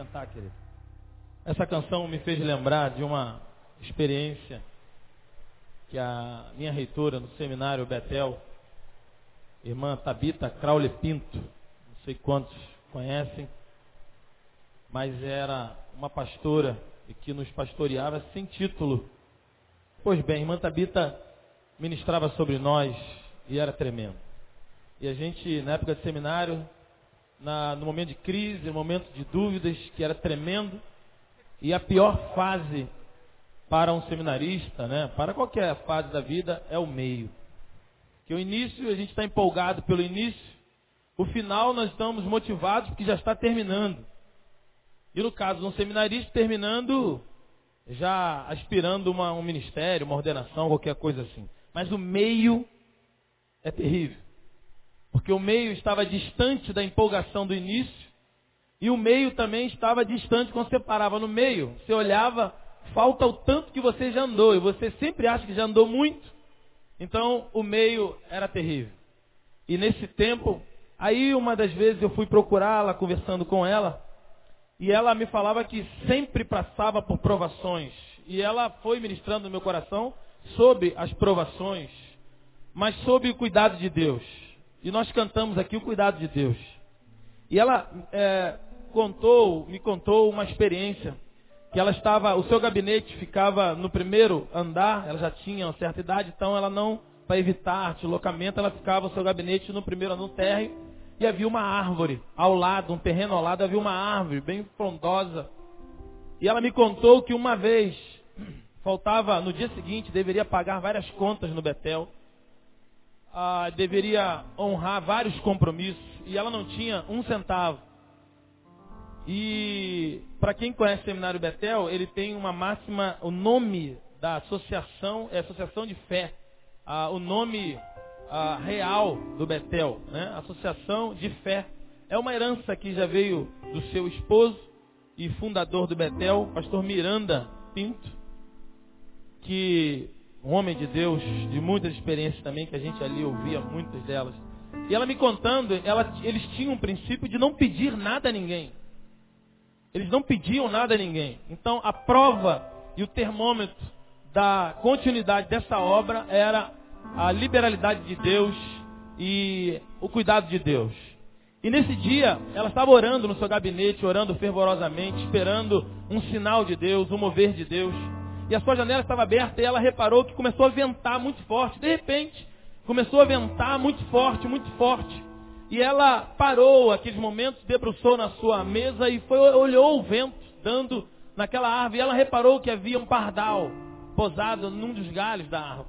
sentar, querido. Essa canção me fez lembrar de uma experiência que a minha reitora no seminário Betel, irmã Tabita Crowley Pinto, não sei quantos conhecem, mas era uma pastora e que nos pastoreava sem título. Pois bem, a irmã Tabita ministrava sobre nós e era tremendo. E a gente, na época de seminário, no momento de crise, no momento de dúvidas, que era tremendo, e a pior fase para um seminarista, né, para qualquer fase da vida, é o meio. Que o início, a gente está empolgado pelo início, o final nós estamos motivados porque já está terminando. E no caso de um seminarista, terminando, já aspirando um ministério, uma ordenação, qualquer coisa assim. Mas o meio é terrível. Porque o meio estava distante da empolgação do início, e o meio também estava distante quando você parava no meio. Você olhava, falta o tanto que você já andou, e você sempre acha que já andou muito. Então, o meio era terrível. E nesse tempo, aí uma das vezes eu fui procurá-la, conversando com ela, e ela me falava que sempre passava por provações. E ela foi ministrando no meu coração sobre as provações, mas sobre o cuidado de Deus. E nós cantamos aqui o cuidado de Deus. E ela me contou uma experiência, que ela estava, o seu gabinete ficava no primeiro andar, ela já tinha uma certa idade, então ela não, para evitar deslocamento, ela ficava o seu gabinete no primeiro andar, no térreo, e havia uma árvore ao lado, um terreno ao lado, havia uma árvore bem frondosa. E ela me contou que uma vez, faltava, no dia seguinte, deveria pagar várias contas no Betel, deveria honrar vários compromissos, e ela não tinha um centavo. E para quem conhece o Seminário Betel, ele tem uma máxima, o nome da associação é Associação de Fé. O nome real do Betel, né? Associação de Fé. É uma herança que já veio do seu esposo e fundador do Betel, pastor Miranda Pinto, que um homem de Deus, de muitas experiências também, que a gente ali ouvia muitas delas. E ela me contando, eles tinham um princípio de não pedir nada a ninguém. Eles não pediam nada a ninguém. Então, a prova e o termômetro da continuidade dessa obra era a liberalidade de Deus e o cuidado de Deus. E nesse dia, ela estava orando no seu gabinete, orando fervorosamente, esperando um sinal de Deus, um mover de Deus. E a sua janela estava aberta e ela reparou que começou a ventar muito forte. De repente, começou a ventar muito forte, muito forte. E ela parou aqueles momentos, debruçou na sua mesa e olhou o vento dando naquela árvore. E ela reparou que havia um pardal posado num dos galhos da árvore.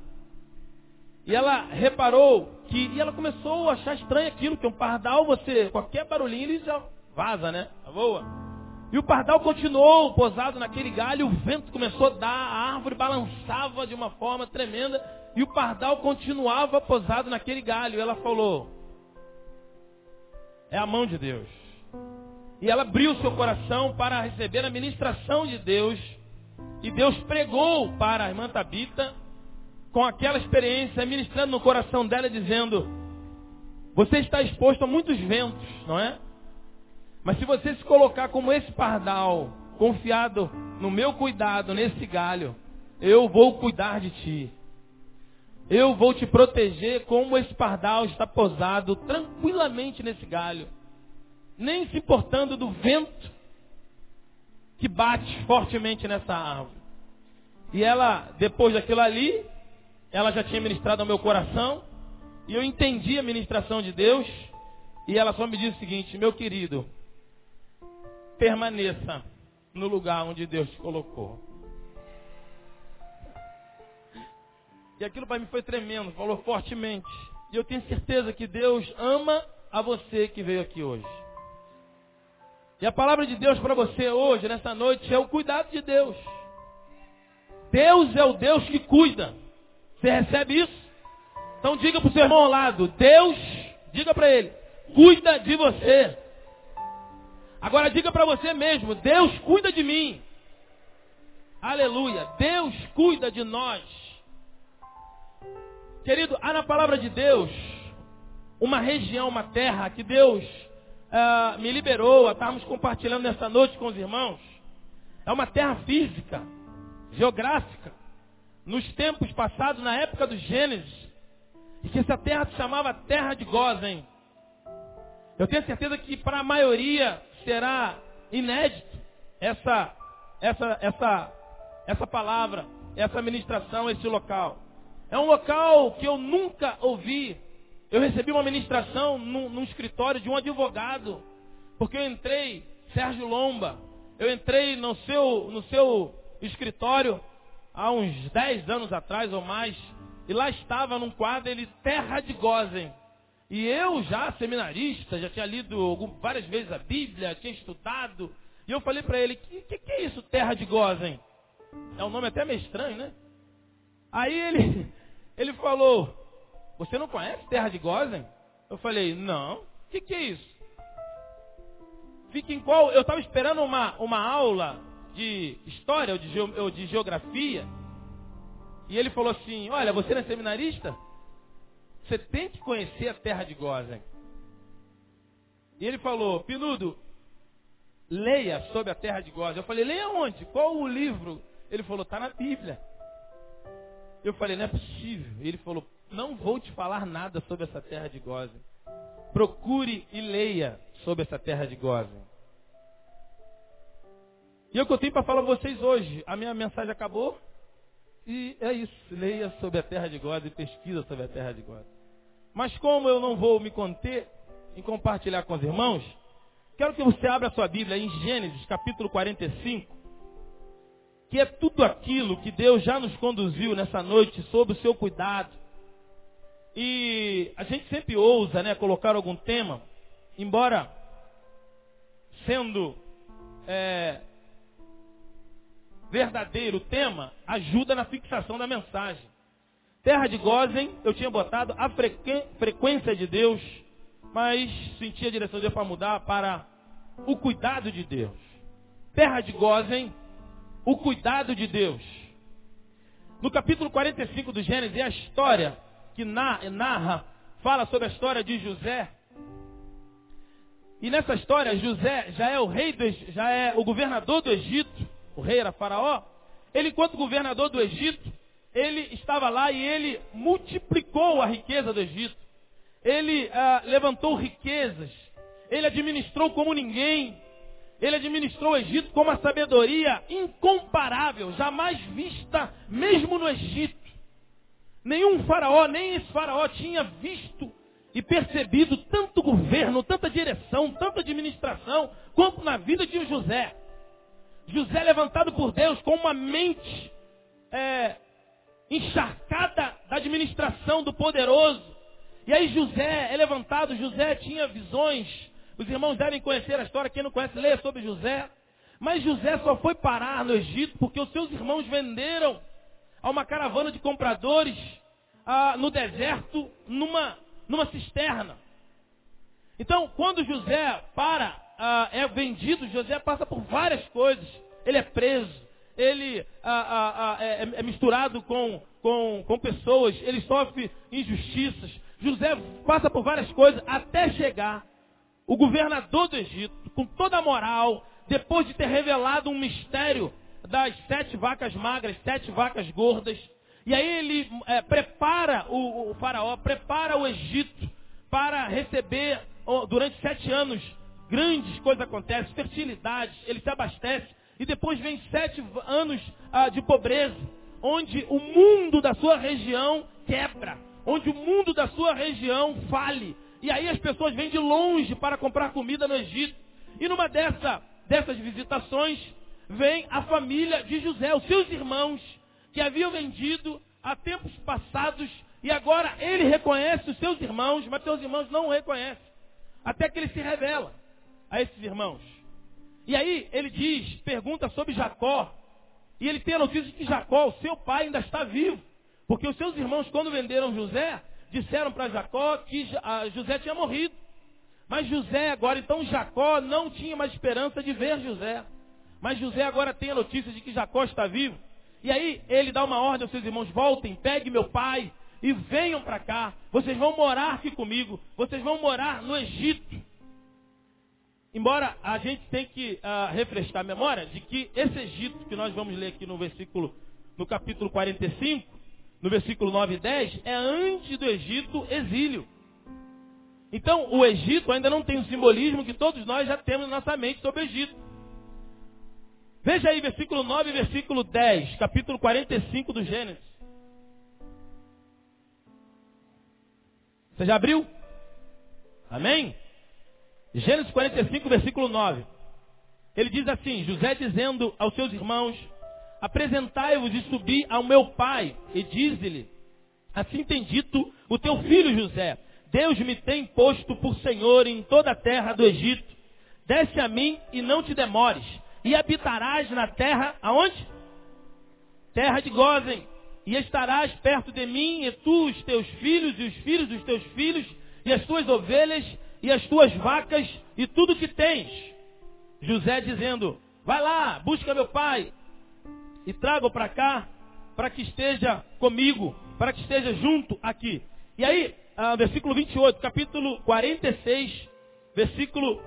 E ela reparou e ela começou a achar estranho aquilo, que um pardal, qualquer barulhinho ele já vaza, né? Voa. E o pardal continuou posado naquele galho, o vento começou a dar, a árvore balançava de uma forma tremenda, e o pardal continuava posado naquele galho. E ela falou: é a mão de Deus. E ela abriu seu coração para receber a ministração de Deus. E Deus pregou para a irmã Tabita, com aquela experiência, ministrando no coração dela, dizendo: você está exposto a muitos ventos, não é? Mas se você se colocar como esse pardal, confiado no meu cuidado, nesse galho, eu vou cuidar de ti. Eu vou te proteger como esse pardal está posado tranquilamente nesse galho, nem se importando do vento que bate fortemente nessa árvore. E ela, depois daquilo ali, ela já tinha ministrado ao meu coração, e eu entendi a ministração de Deus, e ela só me disse o seguinte: meu querido, permaneça no lugar onde Deus te colocou. E aquilo para mim foi tremendo, falou fortemente. E eu tenho certeza que Deus ama a você que veio aqui hoje. E a palavra de Deus para você hoje, nessa noite, é o cuidado de Deus. Deus é o Deus que cuida. Você recebe isso? Então diga para o seu irmão ao lado: Deus, diga para ele, cuida de você. Agora diga para você mesmo: Deus cuida de mim. Aleluia. Deus cuida de nós. Querido, há na palavra de Deus uma região, uma terra que Deus me liberou a estarmos compartilhando nessa noite com os irmãos, é uma terra física, geográfica, nos tempos passados, na época do Gênesis, e que essa terra se chamava Terra de Gósen. Eu tenho certeza que para a maioria será inédito essa palavra, essa ministração, esse local. É um local que eu nunca ouvi. Eu recebi uma ministração num escritório de um advogado, porque eu entrei, Sérgio Lomba, eu entrei no seu escritório há uns 10 anos atrás ou mais, e lá estava num quadro, ele, Terra de Gósen. E eu já, seminarista, já tinha lido várias vezes a Bíblia, tinha estudado, e eu falei para ele, que é isso, Terra de Gósen? É um nome até meio estranho, né? Aí ele falou, você não conhece Terra de Gósen? Eu falei, não. O que é isso? Fica em qual? Eu estava esperando uma aula de história ou de geografia. E ele falou assim, olha, você não é seminarista? Você tem que conhecer a Terra de Gósen. E ele falou, Pinudo, leia sobre a Terra de Gósen. Eu falei, leia onde? Qual o livro? Ele falou, está na Bíblia. Eu falei, não é possível. E ele falou, não vou te falar nada sobre essa Terra de Gósen. Procure e leia sobre essa Terra de Gósen. E é o que eu tenho para falar para vocês hoje. A minha mensagem acabou. E é isso. Leia sobre a Terra de Gósen e pesquisa sobre a Terra de Gósen. Mas como eu não vou me conter em compartilhar com os irmãos, quero que você abra a sua Bíblia em Gênesis, capítulo 45, que é tudo aquilo que Deus já nos conduziu nessa noite sob o seu cuidado. E a gente sempre ousa, né, colocar algum tema, embora sendo verdadeiro o tema, ajuda na fixação da mensagem. Terra de Gósen, eu tinha botado a frequência de Deus, mas senti a direção de Deus para mudar para o cuidado de Deus. Terra de Gósen, o cuidado de Deus. No capítulo 45 do Gênesis, é a história que fala sobre a história de José. E nessa história, José já é o governador do Egito. O rei era Faraó. Ele, enquanto governador do Egito, ele estava lá e ele multiplicou a riqueza do Egito. Ele levantou riquezas. Ele administrou como ninguém. Ele administrou o Egito com uma sabedoria incomparável, jamais vista mesmo no Egito. Nenhum faraó, nem esse faraó tinha visto e percebido tanto governo, tanta direção, tanta administração, quanto na vida de José. José levantado por Deus com uma mente encharcada da administração do poderoso. E aí José é levantado, José tinha visões. Os irmãos devem conhecer a história, quem não conhece, leia sobre José. Mas José só foi parar no Egito porque os seus irmãos venderam a uma caravana de compradores no deserto, numa cisterna. Então, quando José é vendido, José passa por várias coisas. Ele é preso, ele é misturado com pessoas, ele sofre injustiças. José passa por várias coisas até chegar o governador do Egito, com toda a moral, depois de ter revelado um mistério das 7 vacas magras, 7 vacas gordas. E aí ele prepara o faraó, prepara o Egito para receber, durante 7 anos, grandes coisas acontecem, fertilidade, ele se abastece. E depois vem 7 anos de pobreza, onde o mundo da sua região quebra, onde o mundo da sua região fale. E aí as pessoas vêm de longe para comprar comida no Egito. E numa dessas visitações, vem a família de José, os seus irmãos, que haviam vendido há tempos passados. E agora ele reconhece os seus irmãos, mas seus irmãos não o reconhecem. Até que ele se revela a esses irmãos. E aí ele pergunta sobre Jacó. E ele tem a notícia de que Jacó, o seu pai, ainda está vivo. Porque os seus irmãos, quando venderam José, disseram para Jacó que José tinha morrido. Mas José agora, então Jacó não tinha mais esperança de ver José. Mas José agora tem a notícia de que Jacó está vivo. E aí ele dá uma ordem aos seus irmãos: voltem, peguem meu pai e venham para cá. Vocês vão morar aqui comigo. Vocês vão morar no Egito. embora a gente tenha que refrescar a memória de que esse Egito que nós vamos ler aqui no capítulo 45, no versículo 9 e 10, é antes do Egito exílio. Então, o Egito ainda não tem o simbolismo que todos nós já temos na nossa mente sobre o Egito. Veja aí, versículo 9 e versículo 10, capítulo 45 do Gênesis. Você já abriu? Amém? Gênesis 45, versículo 9. Ele diz assim, José dizendo aos seus irmãos, apresentai-vos e subi ao meu pai, e diz-lhe, assim tem dito o teu filho José, Deus me tem posto por Senhor em toda a terra do Egito. Desce a mim e não te demores, e habitarás na terra, aonde? Terra de Gósen, e estarás perto de mim, e tu, os teus filhos, e os filhos dos teus filhos, e as tuas ovelhas, e as tuas vacas, e tudo que tens. José dizendo, vai lá, busca meu pai, e traga-o para cá, para que esteja comigo, para que esteja junto aqui. E aí, versículo 28, capítulo 46, versículo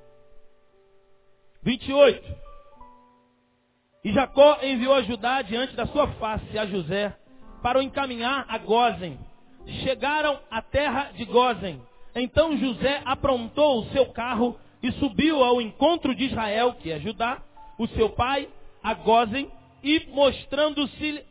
28. E Jacó enviou a Judá diante da sua face a José, para o encaminhar a Gósen. Chegaram à terra de Gósen. Então José aprontou o seu carro e subiu ao encontro de Israel, que é Judá, o seu pai, a Gósen, e mostrando-se,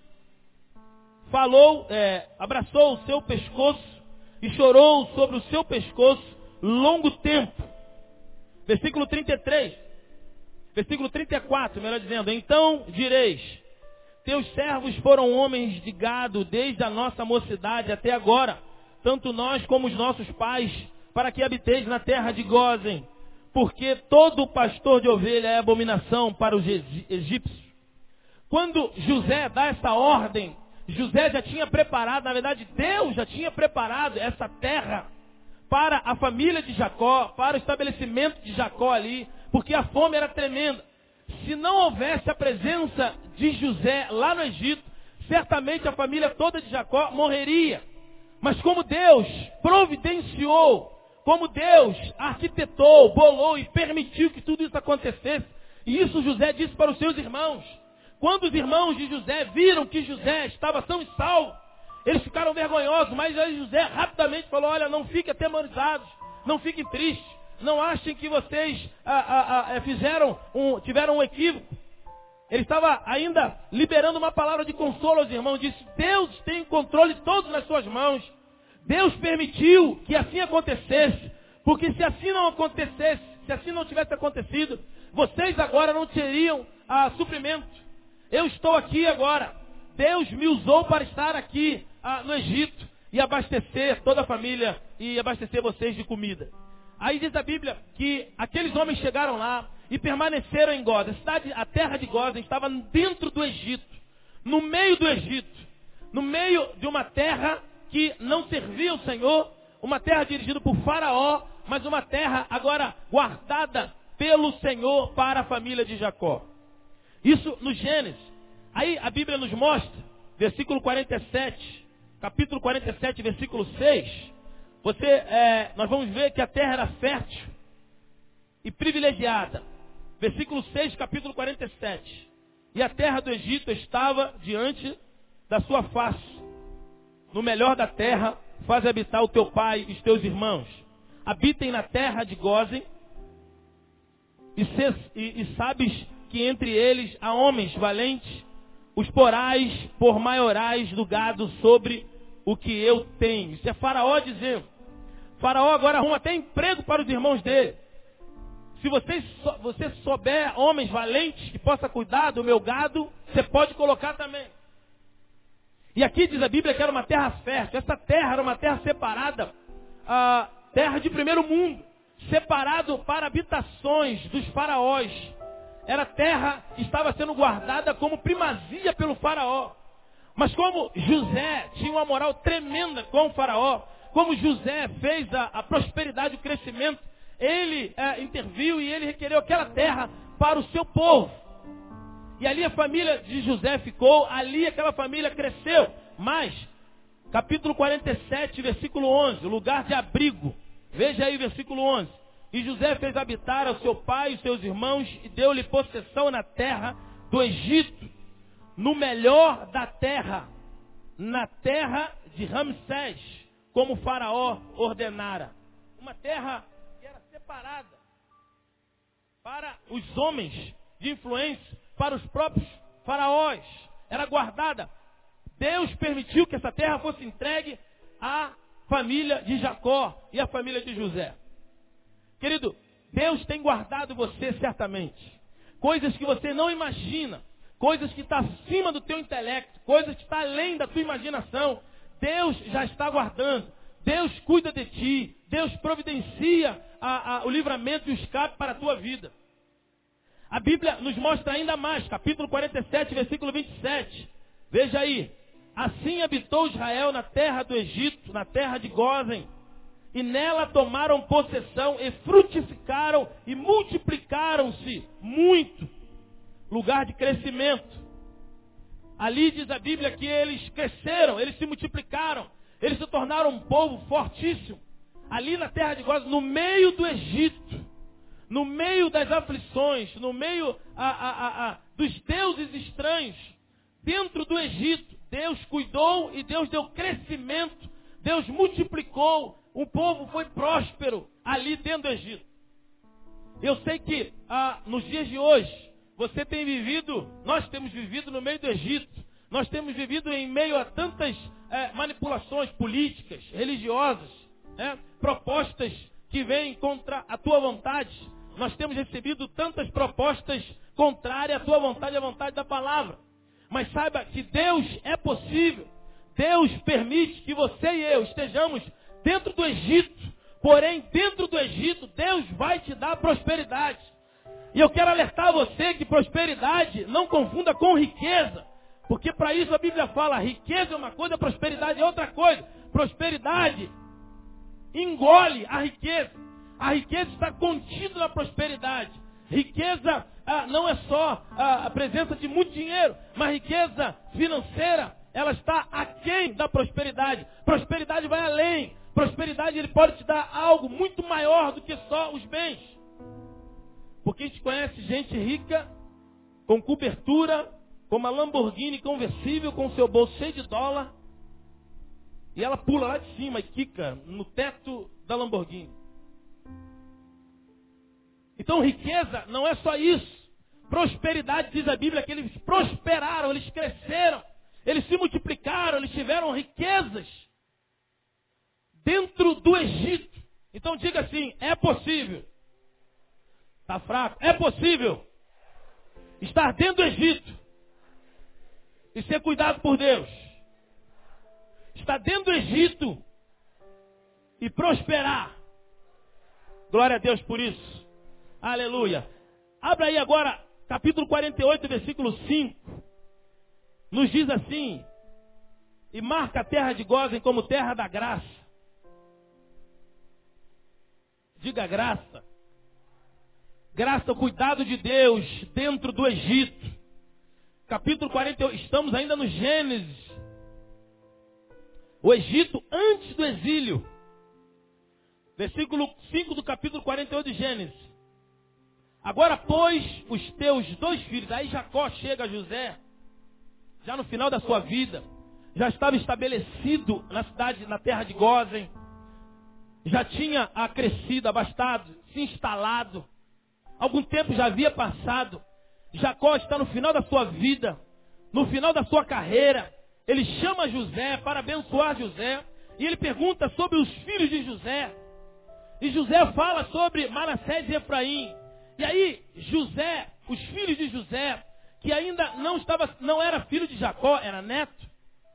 abraçou o seu pescoço e chorou sobre o seu pescoço longo tempo. Versículo 33, versículo 34, melhor dizendo, então direis, teus servos foram homens de gado desde a nossa mocidade até agora, tanto nós como os nossos pais, para que habiteis na terra de Gósen, porque todo pastor de ovelha é abominação para os egípcios. Quando José dá essa ordem, José já tinha preparado, na verdade Deus já tinha preparado essa terra para a família de Jacó, para o estabelecimento de Jacó ali, porque a fome era tremenda. Se não houvesse a presença de José lá no Egito, certamente a família toda de Jacó morreria. Mas como Deus providenciou, como Deus arquitetou, bolou e permitiu que tudo isso acontecesse, e isso José disse para os seus irmãos. Quando os irmãos de José viram que José estava são e salvo, eles ficaram vergonhosos, mas aí José rapidamente falou, olha, não fiquem atemorizados, não fiquem tristes, não achem que vocês tiveram um equívoco. Ele estava ainda liberando uma palavra de consolo aos irmãos, disse, Deus tem o controle todo nas suas mãos, Deus permitiu que assim acontecesse, porque se assim não acontecesse, se assim não tivesse acontecido, vocês agora não teriam suprimento. Eu estou aqui agora. Deus me usou para estar aqui no Egito e abastecer toda a família e abastecer vocês de comida. Aí diz a Bíblia que aqueles homens chegaram lá e permaneceram em Gósen. A terra de Gósen estava dentro do Egito, no meio do Egito, no meio de uma terra que não servia ao Senhor, uma terra dirigida por Faraó, mas uma terra agora guardada pelo Senhor para a família de Jacó. Isso no Gênesis. Aí a Bíblia nos mostra, versículo 47, capítulo 47, versículo 6. Nós vamos ver que a terra era fértil e privilegiada. Versículo 6, capítulo 47. E a terra do Egito estava diante da sua face. No melhor da terra, faz habitar o teu pai e os teus irmãos. Habitem na terra de Gósen e sabes que entre eles há homens valentes, os porais por maiorais do gado sobre o que eu tenho. Isso é Faraó dizendo. Faraó agora arruma até emprego para os irmãos dele. Se você souber homens valentes que possa cuidar do meu gado, você pode colocar também. E aqui diz a Bíblia que era uma terra fértil. Essa terra era uma terra separada, terra de primeiro mundo, separado para habitações dos faraós. Era terra que estava sendo guardada como primazia pelo faraó. Mas como José tinha uma moral tremenda com o faraó, como José fez a prosperidade e o crescimento, ele interviu e ele requereu aquela terra para o seu povo. E ali a família de José ficou, ali aquela família cresceu. Mas, capítulo 47, versículo 11, lugar de abrigo. Veja aí o versículo 11. E José fez habitar ao seu pai e os seus irmãos e deu-lhe possessão na terra do Egito, no melhor da terra, na terra de Ramsés, como o faraó ordenara. Uma terra que era separada para os homens de influência, para os próprios faraós. Era guardada. Deus permitiu que essa terra fosse entregue à família de Jacó e à família de José. Querido, Deus tem guardado você certamente. Coisas que você não imagina, coisas que estão acima do teu intelecto, coisas que estão além da tua imaginação. Deus já está guardando. Deus cuida de ti. Deus providencia o livramento e o escape para a tua vida. A Bíblia nos mostra ainda mais, capítulo 47, versículo 27. Veja aí. Assim habitou Israel na terra do Egito, na terra de Gósen, e nela tomaram possessão e frutificaram e multiplicaram-se muito. Lugar de crescimento. Ali diz a Bíblia que eles cresceram, eles se multiplicaram, eles se tornaram um povo fortíssimo. Ali na terra de Gósen, no meio do Egito, no meio das aflições, no meio dos deuses estranhos, dentro do Egito, Deus cuidou e Deus deu crescimento, Deus multiplicou, o povo foi próspero ali dentro do Egito. Eu sei que nos dias de hoje, você tem vivido, nós temos vivido no meio do Egito, nós temos vivido em meio a tantas manipulações políticas, religiosas, propostas que vêm contra a tua vontade. Nós temos recebido tantas propostas contrárias à tua vontade, à vontade da palavra. Mas saiba que Deus é possível. Deus permite que você e eu estejamos dentro do Egito. Porém, dentro do Egito, Deus vai te dar prosperidade. E eu quero alertar você que prosperidade não confunda com riqueza. Porque para isso a Bíblia fala, riqueza é uma coisa, prosperidade é outra coisa. Prosperidade engole a riqueza. A riqueza está contida na prosperidade. Riqueza não é só a presença de muito dinheiro, mas riqueza financeira, ela está aquém da prosperidade. Prosperidade vai além. Prosperidade, ele pode te dar algo muito maior do que só os bens. Porque a gente conhece gente rica, com cobertura, com uma Lamborghini conversível, com seu bolso cheio de dólar, e ela pula lá de cima e quica no teto da Lamborghini. Então riqueza não é só isso. Prosperidade, diz a Bíblia, que eles prosperaram, eles cresceram, eles se multiplicaram, eles tiveram riquezas dentro do Egito. Então diga assim, é possível. Está fraco? É possível estar dentro do Egito e ser cuidado por Deus. Estar dentro do Egito e prosperar. Glória a Deus por isso. Aleluia. Abra aí agora, capítulo 48, versículo 5. Nos diz assim, e marca a terra de Gósen como terra da graça. Diga graça. Graça, o cuidado de Deus dentro do Egito. Capítulo 48, estamos ainda no Gênesis. O Egito antes do exílio. Versículo 5 do capítulo 48 de Gênesis. Agora, pois, os teus 2 filhos, aí Jacó chega a José, já no final da sua vida, já estava estabelecido na cidade, na terra de Gósen, já tinha crescido, abastado, se instalado, algum tempo já havia passado. Jacó está no final da sua vida, no final da sua carreira. Ele chama José para abençoar José, e ele pergunta sobre os filhos de José. E José fala sobre Manassés e Efraim. E aí, José, os filhos de José, que ainda não era filho de Jacó, era neto.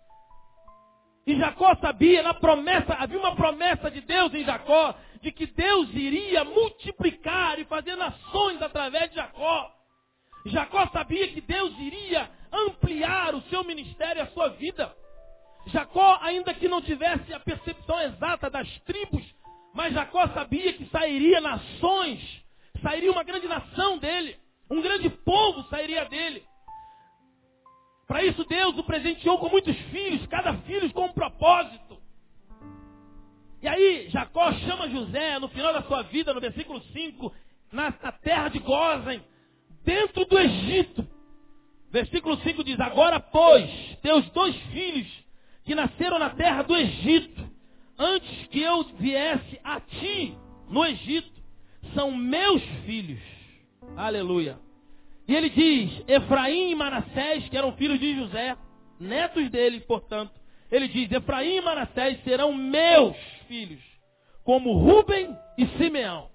E Jacó sabia, na promessa, havia uma promessa de Deus em Jacó, de que Deus iria multiplicar e fazer nações através de Jacó. Jacó sabia que Deus iria ampliar o seu ministério e a sua vida. Jacó, ainda que não tivesse a percepção exata das tribos, mas Jacó sabia que sairia nações, sairia uma grande nação dele, um grande povo sairia dele. Para isso Deus o presenteou com muitos filhos, cada filho com um propósito. E aí aí Jacó chama José no final da sua vida, no versículo 5, na terra de Gósen, dentro do Egito. Versículo 5 diz: agora, pois, teus 2 filhos que nasceram na terra do Egito, antes que eu viesse a ti no Egito, são meus filhos. Aleluia. E ele diz: Efraim e Manassés, que eram filhos de José, netos dele, portanto, ele diz: Efraim e Manassés serão meus filhos, como Rúben e Simeão.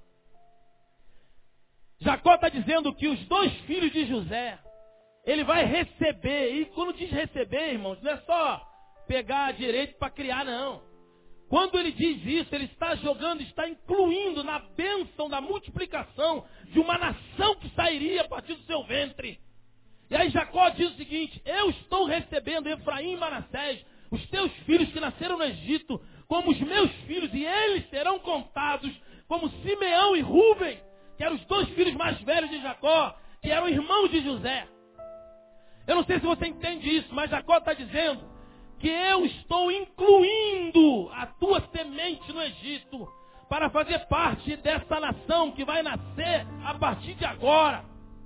Jacó está dizendo que os 2 filhos de José, ele vai receber. E quando diz receber, irmãos, não é só pegar direito para criar, não. Quando ele diz isso, ele está jogando, está incluindo na bênção da multiplicação de uma nação que sairia a partir do seu ventre. E aí Jacó diz o seguinte: eu estou recebendo Efraim e Manassés, os teus filhos que nasceram no Egito, como os meus filhos, e eles serão contados como Simeão e Rúben, que eram os 2 filhos mais velhos de Jacó, que eram irmãos de José. Eu não sei se você entende isso, mas Jacó está dizendo que eu estou incluindo a tua semente no Egito para fazer parte dessa nação que vai nascer a partir de agora.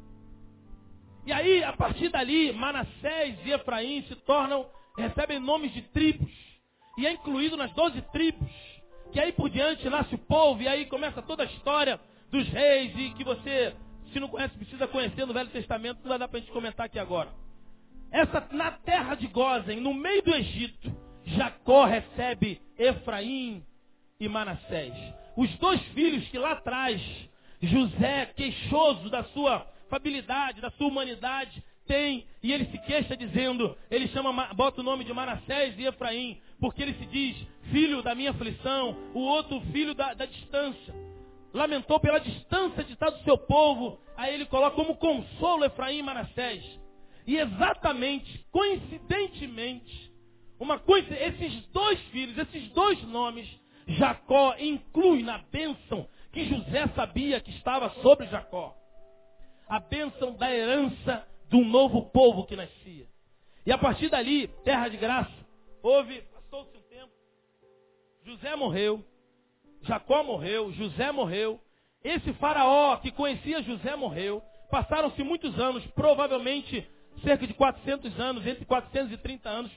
E aí, a partir dali, Manassés e Efraim recebem nomes de tribos. E é incluído nas 12 tribos. Que aí por diante nasce o povo, e aí começa toda a história dos reis, e que você, se não conhece, precisa conhecer no Velho Testamento, não vai dar para a gente comentar aqui agora. Na terra de Gósen, no meio do Egito, Jacó recebe Efraim e Manassés. Os 2 filhos que lá atrás, José, queixoso da sua fabilidade, da sua humanidade, tem, e ele se queixa dizendo, ele bota o nome de Manassés e Efraim, porque ele se diz, filho da minha aflição, o outro filho da distância. Lamentou pela distância de estar do seu povo, aí ele coloca como consolo Efraim e Manassés. E exatamente, coincidentemente, esses 2 filhos, esses 2 nomes, Jacó inclui na bênção que José sabia que estava sobre Jacó. A bênção da herança de um novo povo que nascia. E a partir dali, terra de graça, passou-se um tempo, José morreu, Jacó morreu, José morreu, esse faraó que conhecia José morreu, passaram-se muitos anos, provavelmente cerca de 400 anos, entre 430 anos.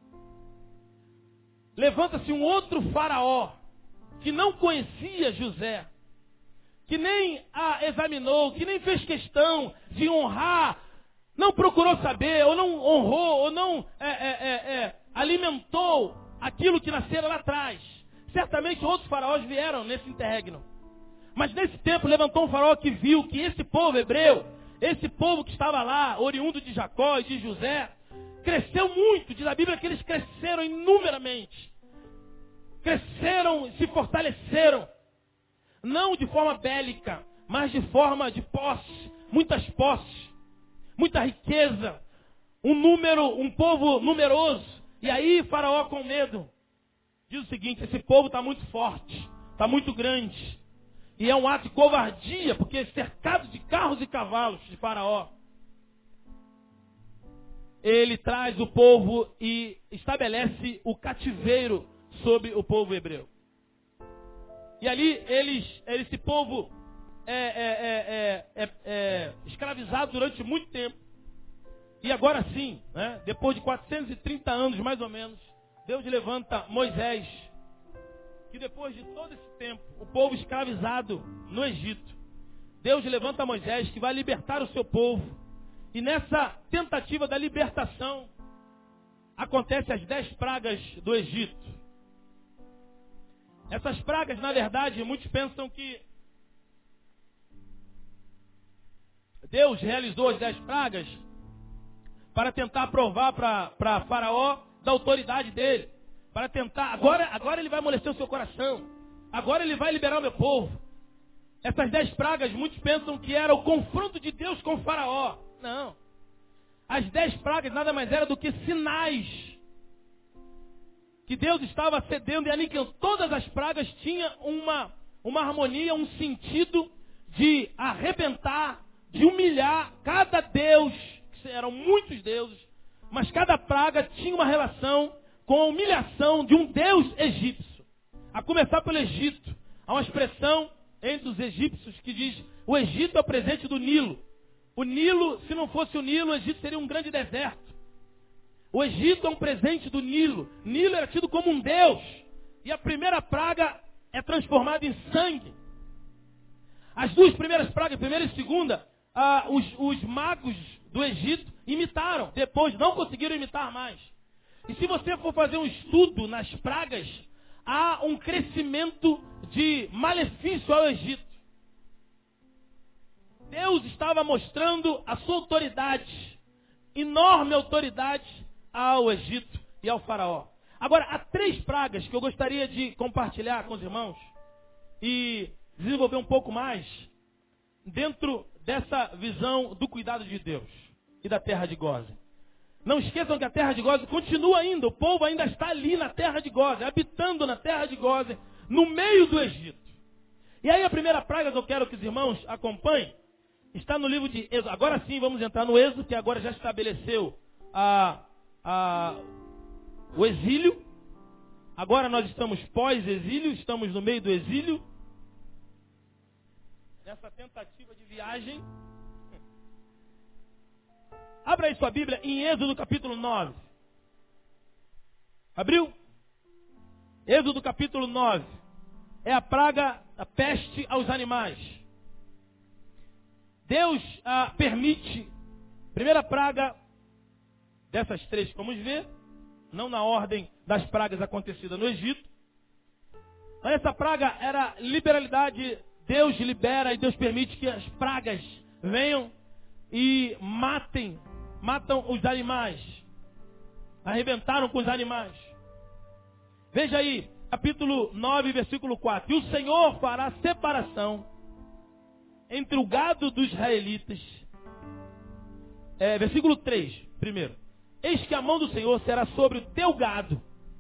Levanta-se um outro faraó que não conhecia José, que nem a examinou, que nem fez questão de honrar, não procurou saber, ou não honrou, ou não alimentou aquilo que nascera lá atrás. Certamente outros faraós vieram nesse interregno. Mas nesse tempo levantou um faraó que viu que esse povo hebreu, esse povo que estava lá, oriundo de Jacó e de José, cresceu muito. Diz a Bíblia que eles cresceram inumeramente. Cresceram, se fortaleceram. Não de forma bélica, mas de forma de posse. Muitas posses, muita riqueza, um povo numeroso. E aí Faraó, com medo, diz o seguinte: esse povo está muito forte, está muito grande. E é um ato de covardia, porque cercado de carros e cavalos de Faraó, ele traz o povo e estabelece o cativeiro sobre o povo hebreu. E ali esse povo é escravizado durante muito tempo. E agora sim, né, depois de 430 anos mais ou menos, Deus levanta Moisés, que depois de todo esse tempo, o povo escravizado no Egito, Deus levanta Moisés que vai libertar o seu povo. E nessa tentativa da libertação, acontecem as 10 pragas do Egito. Essas pragas, na verdade, muitos pensam que Deus realizou as 10 pragas para tentar provar para Faraó da autoridade dele. Para tentar, agora ele vai amolecer o seu coração. Agora ele vai liberar o meu povo. Essas 10 pragas, muitos pensam que era o confronto de Deus com o Faraó. Não. As 10 pragas nada mais era do que sinais que Deus estava cedendo e aniquilando. Todas as pragas tinham uma harmonia, um sentido de arrebentar, de humilhar cada deus, que eram muitos deuses, mas cada praga tinha uma relação com a humilhação de um deus egípcio. A começar pelo Egito. Há uma expressão entre os egípcios que diz: o Egito é o presente do Nilo. O Nilo, se não fosse o Nilo, o Egito seria um grande deserto. O Egito é um presente do Nilo. Nilo era tido como um deus. E a primeira praga é transformada em sangue. As duas primeiras pragas, a primeira e a segunda, os magos do Egito imitaram. Depois não conseguiram imitar mais. E se você for fazer um estudo nas pragas, há um crescimento de malefício ao Egito. Deus estava mostrando a sua autoridade, enorme autoridade ao Egito e ao faraó. Agora, há 3 pragas que eu gostaria de compartilhar com os irmãos e desenvolver um pouco mais dentro dessa visão do cuidado de Deus e da terra de Gósen. Não esqueçam que a terra de Gósen continua ainda, o povo ainda está ali na terra de Gósen, habitando na terra de Gósen, no meio do Egito. E aí a primeira praga que eu quero que os irmãos acompanhem está no livro de Êxodo. Agora sim vamos entrar no Êxodo, que agora já estabeleceu o exílio. Agora nós estamos pós-exílio, estamos no meio do exílio. Nessa tentativa de viagem. Abra aí sua Bíblia em Êxodo capítulo 9. Abriu? Êxodo capítulo 9. É a praga, a peste aos animais. Deus permite, primeira praga dessas 3 que vamos ver, não na ordem das pragas acontecidas no Egito. Mas essa praga era liberalidade. Deus libera e Deus permite que as pragas venham e matam os animais. Arrebentaram com os animais. Veja aí, capítulo 9, versículo 4. E o Senhor fará separação entre o gado dos israelitas. Versículo 3, primeiro. Eis que a mão do Senhor será sobre o teu gado.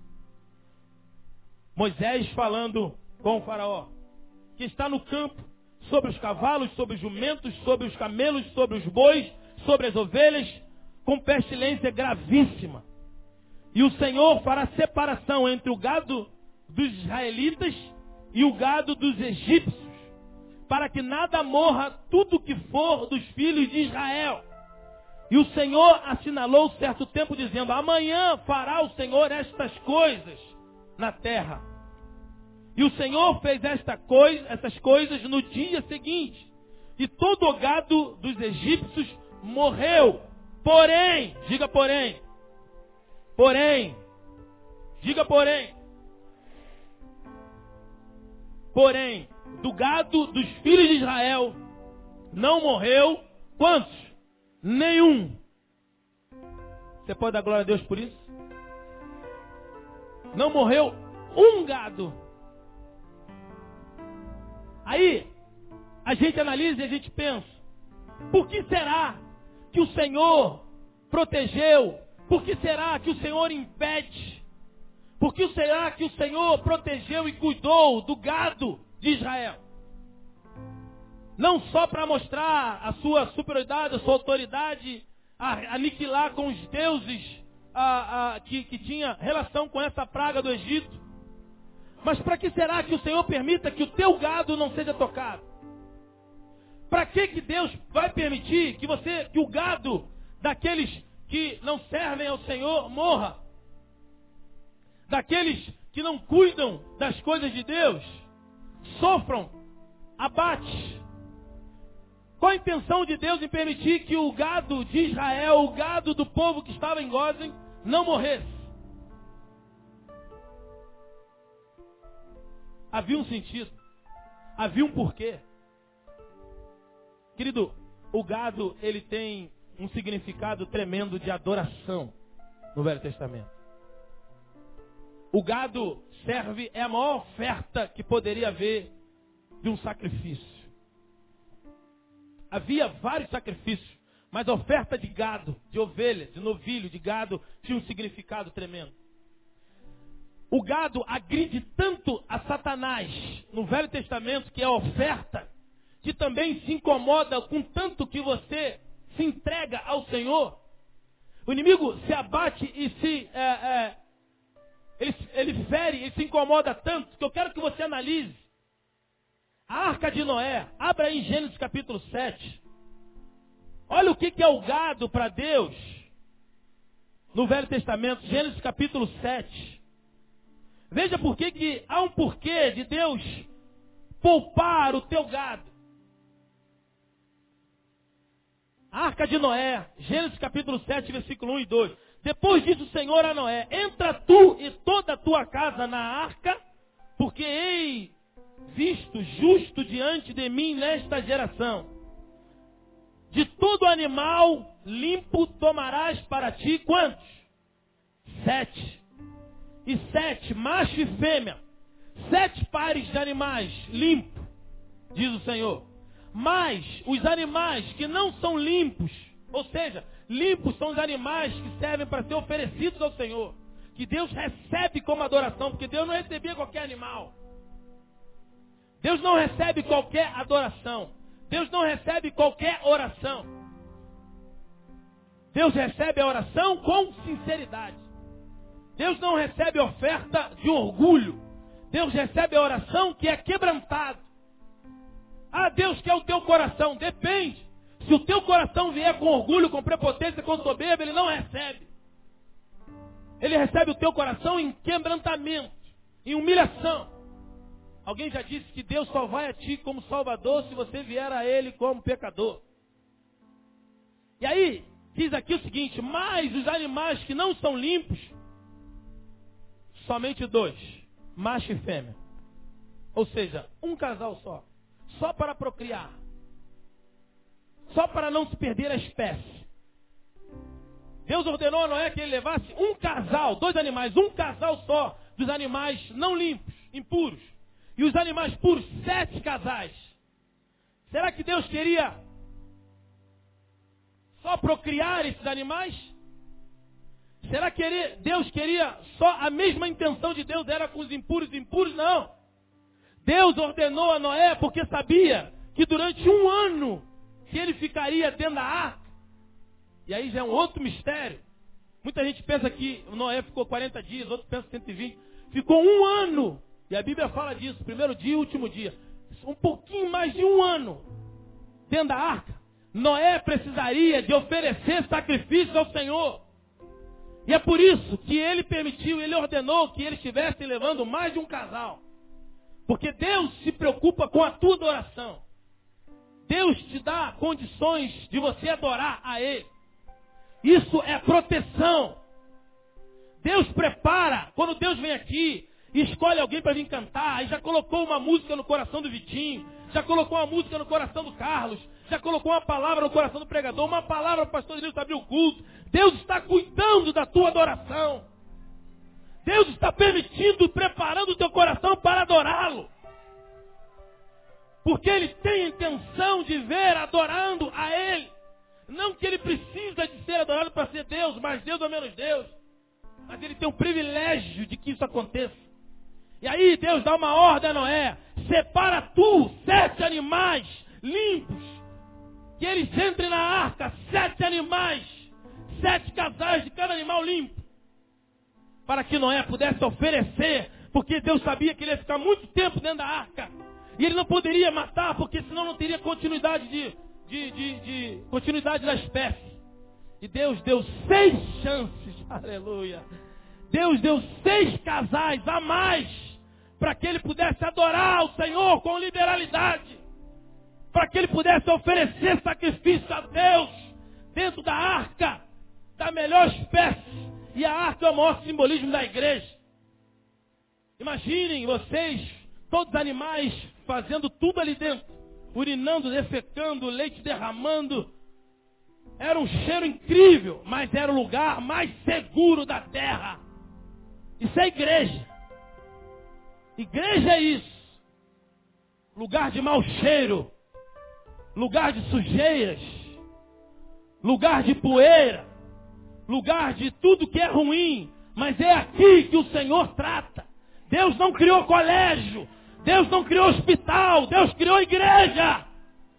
Moisés falando com o faraó, que está no campo, sobre os cavalos, sobre os jumentos, sobre os camelos, sobre os bois, sobre as ovelhas, com pestilência gravíssima. E o Senhor fará separação entre o gado dos israelitas e o gado dos egípcios, para que nada morra tudo que for dos filhos de Israel. E o Senhor assinalou certo tempo, dizendo: amanhã fará o Senhor estas coisas na terra. E o Senhor fez essas coisas no dia seguinte. E todo o gado dos egípcios morreu. Porém, diga porém. Porém. Diga porém. Porém, do gado dos filhos de Israel não morreu quantos? Nenhum. Você pode dar glória a Deus por isso? Não morreu um gado. Aí, a gente analisa e a gente pensa: por que será que o Senhor protegeu? Por que será que o Senhor impede? Por que será que o Senhor protegeu e cuidou do gado de Israel? Não só para mostrar a sua superioridade, a sua autoridade, aniquilar com os deuses que tinha relação com essa praga do Egito, mas para que será que o Senhor permita que o teu gado não seja tocado? Para que Deus vai permitir que o gado daqueles que não servem ao Senhor morra? Daqueles que não cuidam das coisas de Deus, sofram abate. Qual a intenção de Deus em permitir que o gado de Israel, o gado do povo que estava em Gósen, não morresse? Havia um sentido, havia um porquê. Querido, o gado, ele tem um significado tremendo de adoração no Velho Testamento. O gado é a maior oferta que poderia haver de um sacrifício. Havia vários sacrifícios, mas a oferta de gado, de ovelha, de novilho, de gado, tinha um significado tremendo. O gado agride tanto a Satanás no Velho Testamento, que é a oferta, que também se incomoda com tanto que você se entrega ao Senhor. O inimigo se abate e ele fere, ele se incomoda tanto que eu quero que você analise. A arca de Noé, abra aí em Gênesis capítulo 7. Olha o que é o gado para Deus no Velho Testamento, Gênesis capítulo 7. Veja por que há um porquê de Deus poupar o teu gado. A arca de Noé, Gênesis capítulo 7, versículo 1 e 2. Depois disse o Senhor a Noé: entra tu e toda a tua casa na arca, porque hei visto justo diante de mim nesta geração. De todo animal limpo tomarás para ti quantos? 7. E 7, macho e fêmea. 7 pares de animais limpos, diz o Senhor. Mas os animais que não são limpos, ou seja, limpos são os animais que servem para ser oferecidos ao Senhor, que Deus recebe como adoração, porque Deus não recebia qualquer animal. Deus não recebe qualquer adoração. Deus não recebe qualquer oração. Deus recebe a oração com sinceridade. Deus não recebe oferta de orgulho. Deus recebe a oração que é quebrantada. Ah, Deus quer o teu coração. Depende. Se o teu coração vier com orgulho, com prepotência, com soberba, Ele não recebe. Ele recebe o teu coração em quebrantamento, em humilhação. Alguém já disse que Deus só vai a ti como Salvador se você vier a Ele como pecador. E aí, diz aqui o seguinte: mas os animais que não são limpos, somente 2, macho e fêmea. Ou seja, um casal só para procriar. Só para não se perder a espécie. Deus ordenou a Noé que ele levasse um casal, 2 animais, um casal só dos animais não limpos, impuros. E os animais puros, 7 casais. Será que Deus queria só procriar esses animais? Será que Deus queria só a mesma intenção de Deus era com os impuros? Não. Deus ordenou a Noé porque sabia que durante 1 ano que ele ficaria dentro da arca. E aí já é um outro mistério. Muita gente pensa que Noé ficou 40 dias, outros pensam 120. Ficou 1 ano. E a Bíblia fala disso, primeiro dia e último dia. Um pouquinho mais de 1 ano dentro da arca. Noé precisaria de oferecer sacrifícios ao Senhor. E é por isso que ele permitiu, ele ordenou que ele estivesse levando mais de um casal. Porque Deus se preocupa com a tua adoração. Deus te dá condições de você adorar a Ele. Isso é proteção. Deus prepara, quando Deus vem aqui e escolhe alguém para vir cantar, aí já colocou uma música no coração do Vitinho, já colocou uma música no coração do Carlos, já colocou uma palavra no coração do pregador, uma palavra para o pastor Deus abrir o culto. Deus está cuidando da tua adoração. Deus está permitindo, preparando o teu coração para adorá-lo. Porque Ele tem a intenção de ver adorando a Ele. Não que Ele precisa de ser adorado para ser Deus, mais Deus ou menos Deus. Mas Ele tem o privilégio de que isso aconteça. E aí Deus dá uma ordem a Noé: separa tu 7 animais limpos, que eles entrem na arca, 7 animais, 7 casais de cada animal limpo, para que Noé pudesse oferecer, porque Deus sabia que ele ia ficar muito tempo dentro da arca, e ele não poderia matar, porque senão não teria continuidade continuidade da espécie. E Deus deu 6 chances, aleluia. Deus deu 6 casais a mais, para que ele pudesse adorar o Senhor com liberalidade, para que ele pudesse oferecer sacrifício a Deus dentro da arca, da melhor espécie. E a arca é o maior simbolismo da igreja. Imaginem vocês, todos os animais fazendo tudo ali dentro, urinando, defecando, leite derramando. Era um cheiro incrível, mas era o lugar mais seguro da terra. Isso é igreja. Igreja é isso. Lugar de mau cheiro, lugar de sujeiras, lugar de poeira, lugar de tudo que é ruim. Mas é aqui que o Senhor trata. Deus não criou colégio, Deus não criou hospital, Deus criou igreja.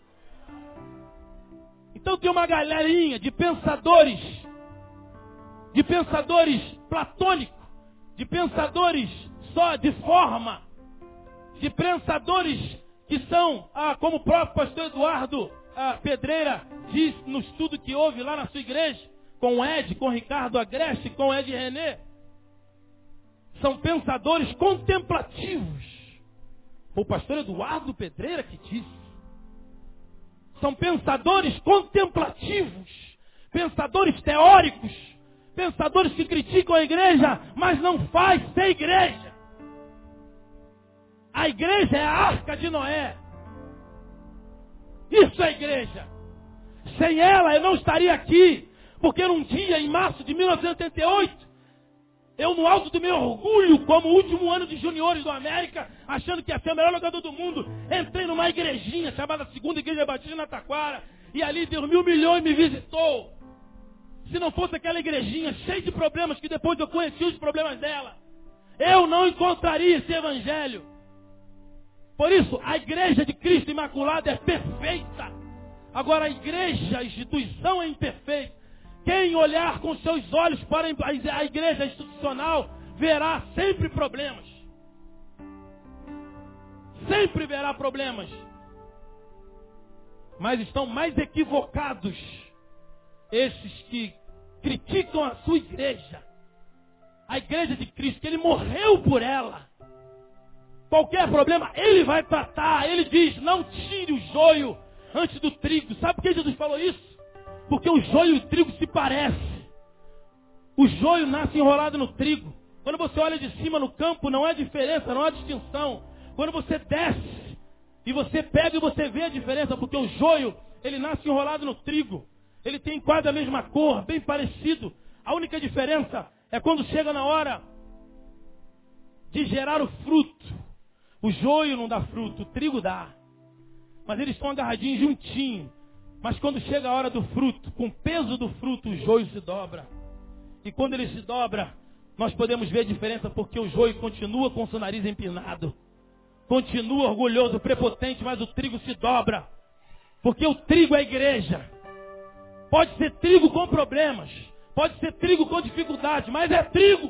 Então tem uma galerinha de pensadores platônicos, de pensadores só de forma, de pensadores que são, como o próprio pastor Eduardo Pedreira diz no estudo que houve lá na sua igreja, com o Ed, com o Ricardo Agreste, com o Ed René. São pensadores contemplativos. Foi o pastor Eduardo Pedreira que disse. São pensadores contemplativos, pensadores teóricos, pensadores que criticam a igreja, mas não faz ser igreja. A igreja é a arca de Noé. Isso é igreja. Sem ela eu não estaria aqui, porque num dia, em março de 1988, eu, no alto do meu orgulho, como último ano de juniores do América, achando que ia ser o melhor jogador do mundo, entrei numa igrejinha chamada Segunda Igreja Batista na Taquara, e ali Deus me humilhou e me visitou. Se não fosse aquela igrejinha cheia de problemas, que depois eu conheci os problemas dela, eu não encontraria esse evangelho. Por isso, a igreja de Cristo Imaculado é perfeita. Agora, a igreja, a instituição é imperfeita. Quem olhar com seus olhos para a igreja institucional, verá sempre problemas. Sempre verá problemas. Mas estão mais equivocados esses que criticam a sua igreja. A igreja de Cristo, que Ele morreu por ela. Qualquer problema, Ele vai tratar. Ele diz, não tire o joio antes do trigo. Sabe por que Jesus falou isso? Porque o joio e o trigo se parecem. O joio nasce enrolado no trigo. Quando você olha de cima no campo, não há diferença, não há distinção. Quando você desce e você pega e você vê a diferença, porque o joio, ele nasce enrolado no trigo. Ele tem quase a mesma cor, bem parecido. A única diferença é quando chega na hora de gerar o fruto. O joio não dá fruto, o trigo dá. Mas eles estão agarradinhos juntinhos. Mas quando chega a hora do fruto, com o peso do fruto, o joio se dobra. E quando ele se dobra, nós podemos ver a diferença, porque o joio continua com o seu nariz empinado. Continua orgulhoso, prepotente, mas o trigo se dobra. Porque o trigo é a igreja. Pode ser trigo com problemas. Pode ser trigo com dificuldade, mas é trigo.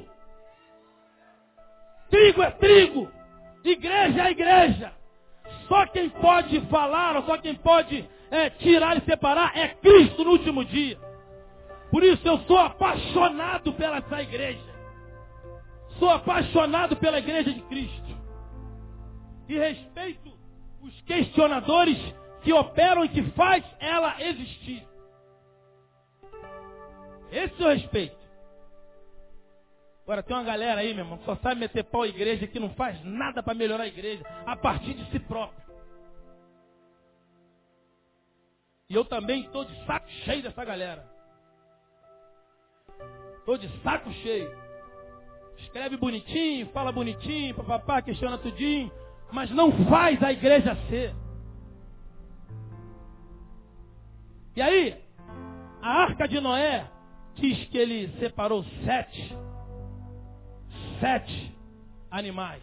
Trigo é trigo. Igreja é igreja. Só quem pode falar, ou só quem pode tirar e separar é Cristo no último dia. Por isso eu sou apaixonado pela essa igreja. Sou apaixonado pela igreja de Cristo. E respeito os questionadores que operam e que faz ela existir. Esse eu respeito. Agora tem uma galera aí, meu irmão, que só sabe meter pau à igreja, que não faz nada para melhorar a igreja, a partir de si próprio. E eu também estou de saco cheio dessa galera. Estou de saco cheio. Escreve bonitinho, fala bonitinho, papapá, questiona tudinho, mas não faz a igreja ser. E aí, a arca de Noé diz que ele separou sete animais.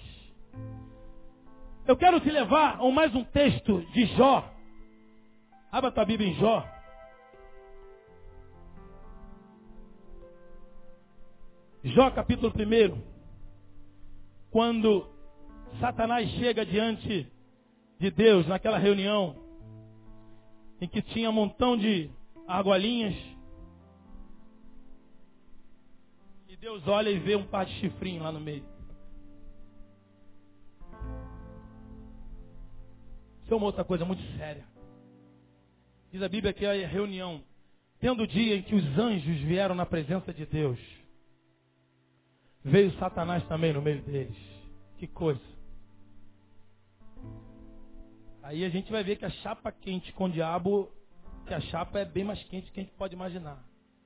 Eu quero te levar a mais um texto de Jó. Abra tua Bíblia em Jó. Jó capítulo 1. Quando Satanás chega diante de Deus naquela reunião em que tinha um montão de argolinhas, e Deus olha e vê um par de chifrinhos lá no meio. Isso é uma outra coisa muito séria. Diz a Bíblia que é a reunião, tendo o dia em que os anjos vieram na presença de Deus, veio Satanás também no meio deles. Que coisa. Aí a gente vai ver que a chapa quente com o diabo, que a chapa é bem mais quente do que a gente pode imaginar.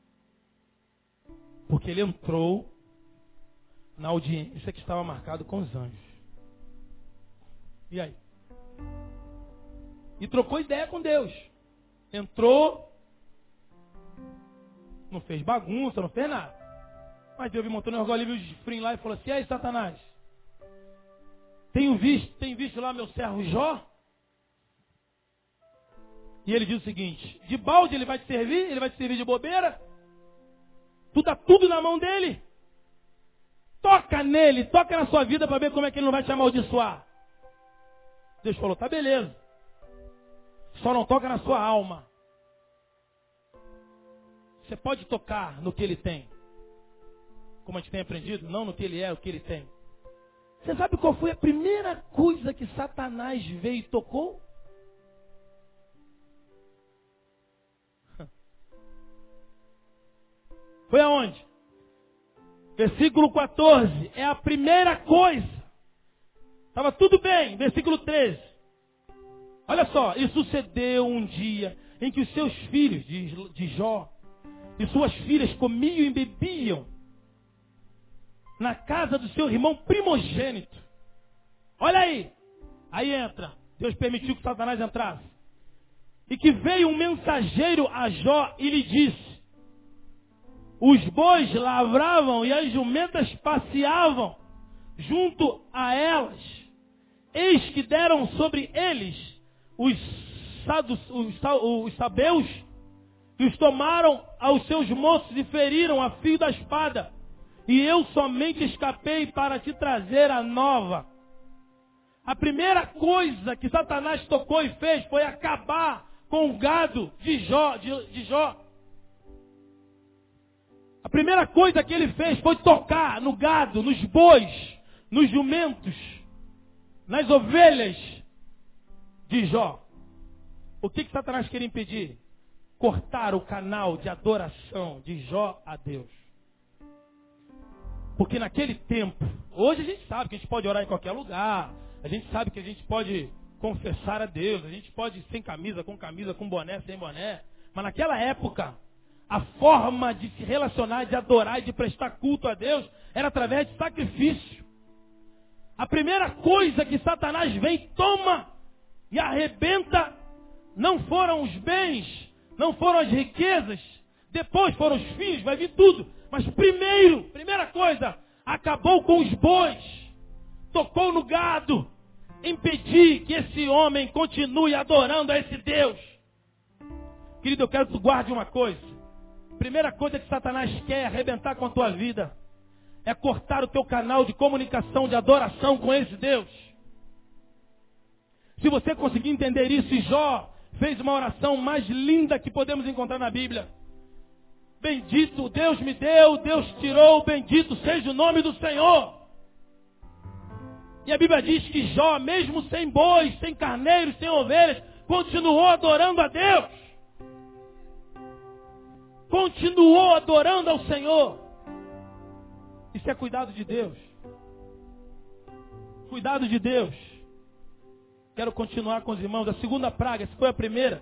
Porque ele entrou na audiência que estava marcado com os anjos. E aí? E trocou ideia com Deus. Entrou, não fez bagunça, não fez nada. Mas Deus montou no orgulho, viu o chifrinho lá e falou assim: e aí, Satanás? Tem visto lá meu servo Jó? E ele diz o seguinte: de balde ele vai te servir? Ele vai te servir de bobeira? Tu dá tudo na mão dele. Toca nele, toca na sua vida para ver como é que ele não vai te amaldiçoar. Deus falou, tá beleza. Só não toca na sua alma. Você pode tocar no que ele tem. Como a gente tem aprendido, não no que ele é, o que ele tem. Você sabe qual foi a primeira coisa que Satanás veio e tocou? Foi aonde? Versículo 14. É a primeira coisa. Estava tudo bem. Versículo 13. Olha só. E sucedeu um dia em que os seus filhos de Jó e suas filhas comiam e bebiam na casa do seu irmão primogênito. Olha aí. Aí entra. Deus permitiu que Satanás entrasse. E que veio um mensageiro a Jó e lhe disse: os bois lavravam e as jumentas passeavam junto a elas. Eis que deram sobre eles os sabeus e os tomaram aos seus moços e feriram a fio da espada. E eu somente escapei para te trazer a nova. A primeira coisa que Satanás tocou e fez foi acabar com o gado de Jó. A primeira coisa que ele fez foi tocar no gado, nos bois, nos jumentos, nas ovelhas de Jó. O que Satanás queria impedir? Cortar o canal de adoração de Jó a Deus. Porque naquele tempo, hoje a gente sabe que a gente pode orar em qualquer lugar, a gente sabe que a gente pode confessar a Deus, a gente pode ir sem camisa, com boné, sem boné. Mas naquela época, a forma de se relacionar, de adorar e de prestar culto a Deus era através de sacrifício. A primeira coisa que Satanás vem, toma e arrebenta, não foram os bens, não foram as riquezas, depois foram os filhos, vai vir tudo. Mas primeira coisa, acabou com os bois, tocou no gado, impedir que esse homem continue adorando a esse Deus. Querido, eu quero que tu guarde uma coisa. Primeira coisa que Satanás quer arrebentar com a tua vida é cortar o teu canal de comunicação, de adoração com esse Deus. Se você conseguir entender isso, e Jó fez uma oração mais linda que podemos encontrar na Bíblia. Bendito, Deus me deu, Deus tirou, bendito seja o nome do Senhor. E a Bíblia diz que Jó, mesmo sem bois, sem carneiros, sem ovelhas, continuou adorando a Deus. Continuou adorando ao Senhor. Isso é cuidado de Deus. Cuidado de Deus. Quero continuar com os irmãos. A segunda praga, essa foi a primeira.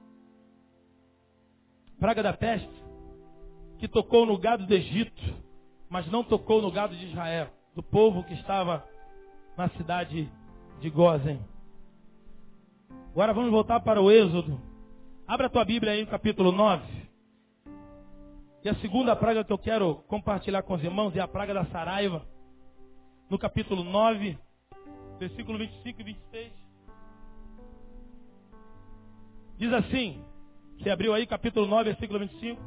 Praga da peste, que tocou no gado do Egito, mas não tocou no gado de Israel, do povo que estava na cidade de Gósen. Agora vamos voltar para o Êxodo. Abra a tua Bíblia aí no capítulo 9. E a segunda praga que eu quero compartilhar com os irmãos é a praga da saraiva. No capítulo 9, versículo 25 e 26. Diz assim, você abriu aí capítulo 9, versículo 25.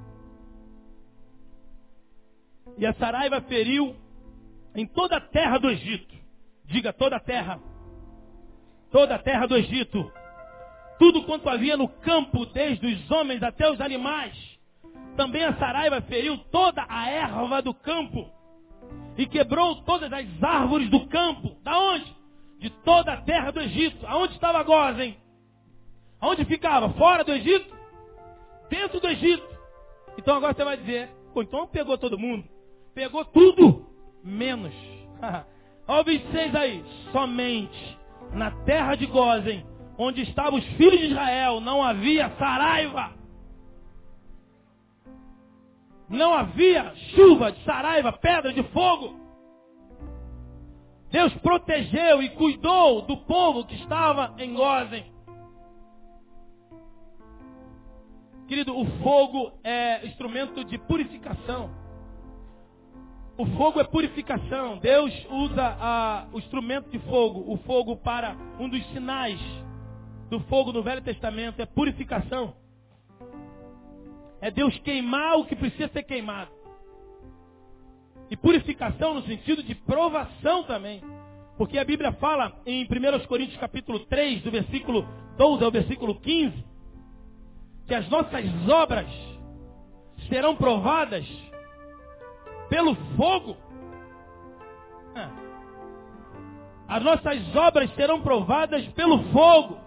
E a saraiva feriu em toda a terra do Egito. Diga, toda a terra. Toda a terra do Egito. Tudo quanto havia no campo, desde os homens até os animais. Também a saraiva feriu toda a erva do campo. E quebrou todas as árvores do campo. Da onde? De toda a terra do Egito. Aonde estava Gósen? Aonde ficava? Fora do Egito? Dentro do Egito. Então agora você vai dizer, pô, então pegou todo mundo. Pegou tudo, menos. Olha o 26 aí. Somente na terra de Gósen, onde estavam os filhos de Israel, não havia saraiva. Não havia chuva de saraiva, pedra de fogo. Deus protegeu e cuidou do povo que estava em Gósen. Querido, o fogo é instrumento de purificação. O fogo é purificação. Deus usa o instrumento de fogo, o fogo, para um dos sinais do fogo no Velho Testamento, é purificação. É Deus queimar o que precisa ser queimado. E purificação no sentido de provação também. Porque a Bíblia fala em 1 Coríntios capítulo 3, do versículo 12 ao versículo 15, que as nossas obras serão provadas pelo fogo. As nossas obras serão provadas pelo fogo.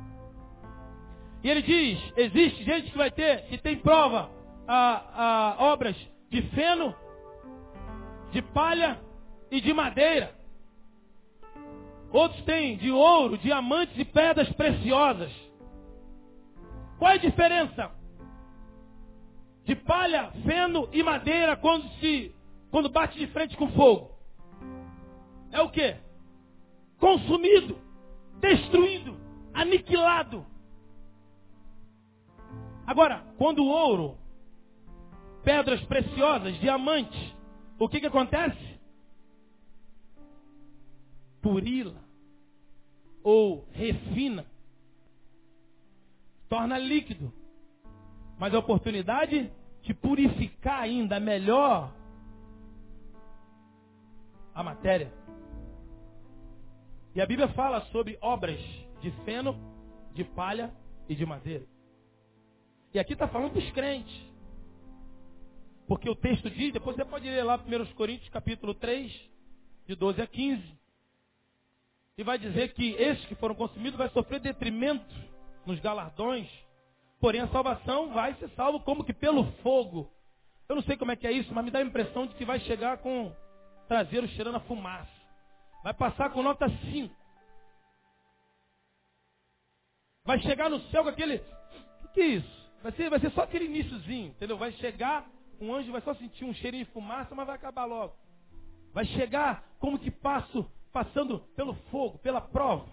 E ele diz, existe gente que tem prova obras de feno, de palha e de madeira. Outros têm de ouro, diamantes e pedras preciosas. Qual é a diferença de palha, feno e madeira quando bate de frente com fogo? É o quê? Consumido, destruído, aniquilado. Agora, quando o ouro, pedras preciosas, diamantes, o que acontece? Purila ou refina, torna líquido, mas a oportunidade de purificar ainda melhor a matéria. E a Bíblia fala sobre obras de feno, de palha e de madeira. E aqui está falando dos crentes. Porque o texto diz, depois você pode ler lá 1 Coríntios capítulo 3, de 12 a 15. E vai dizer que esses que foram consumidos vai sofrer detrimento nos galardões. Porém a salvação vai ser salvo como que pelo fogo. Eu não sei como é que é isso, mas me dá a impressão de que vai chegar com traseiro cheirando a fumaça. Vai passar com nota 5. Vai chegar no céu com aquele... O que é isso? Vai ser só aquele iniciozinho, entendeu? Vai chegar, um anjo vai só sentir um cheirinho de fumaça, mas vai acabar logo. Vai chegar como que passando pelo fogo, pela prova.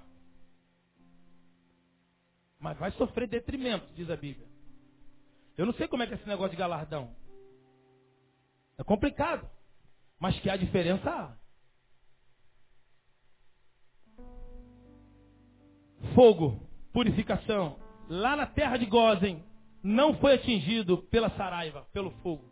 Mas vai sofrer detrimento, diz a Bíblia. Eu não sei como é que é esse negócio de galardão. É complicado. Mas que há diferença há. Fogo, purificação. Lá na terra de Gósen, não foi atingido pela saraiva, pelo fogo.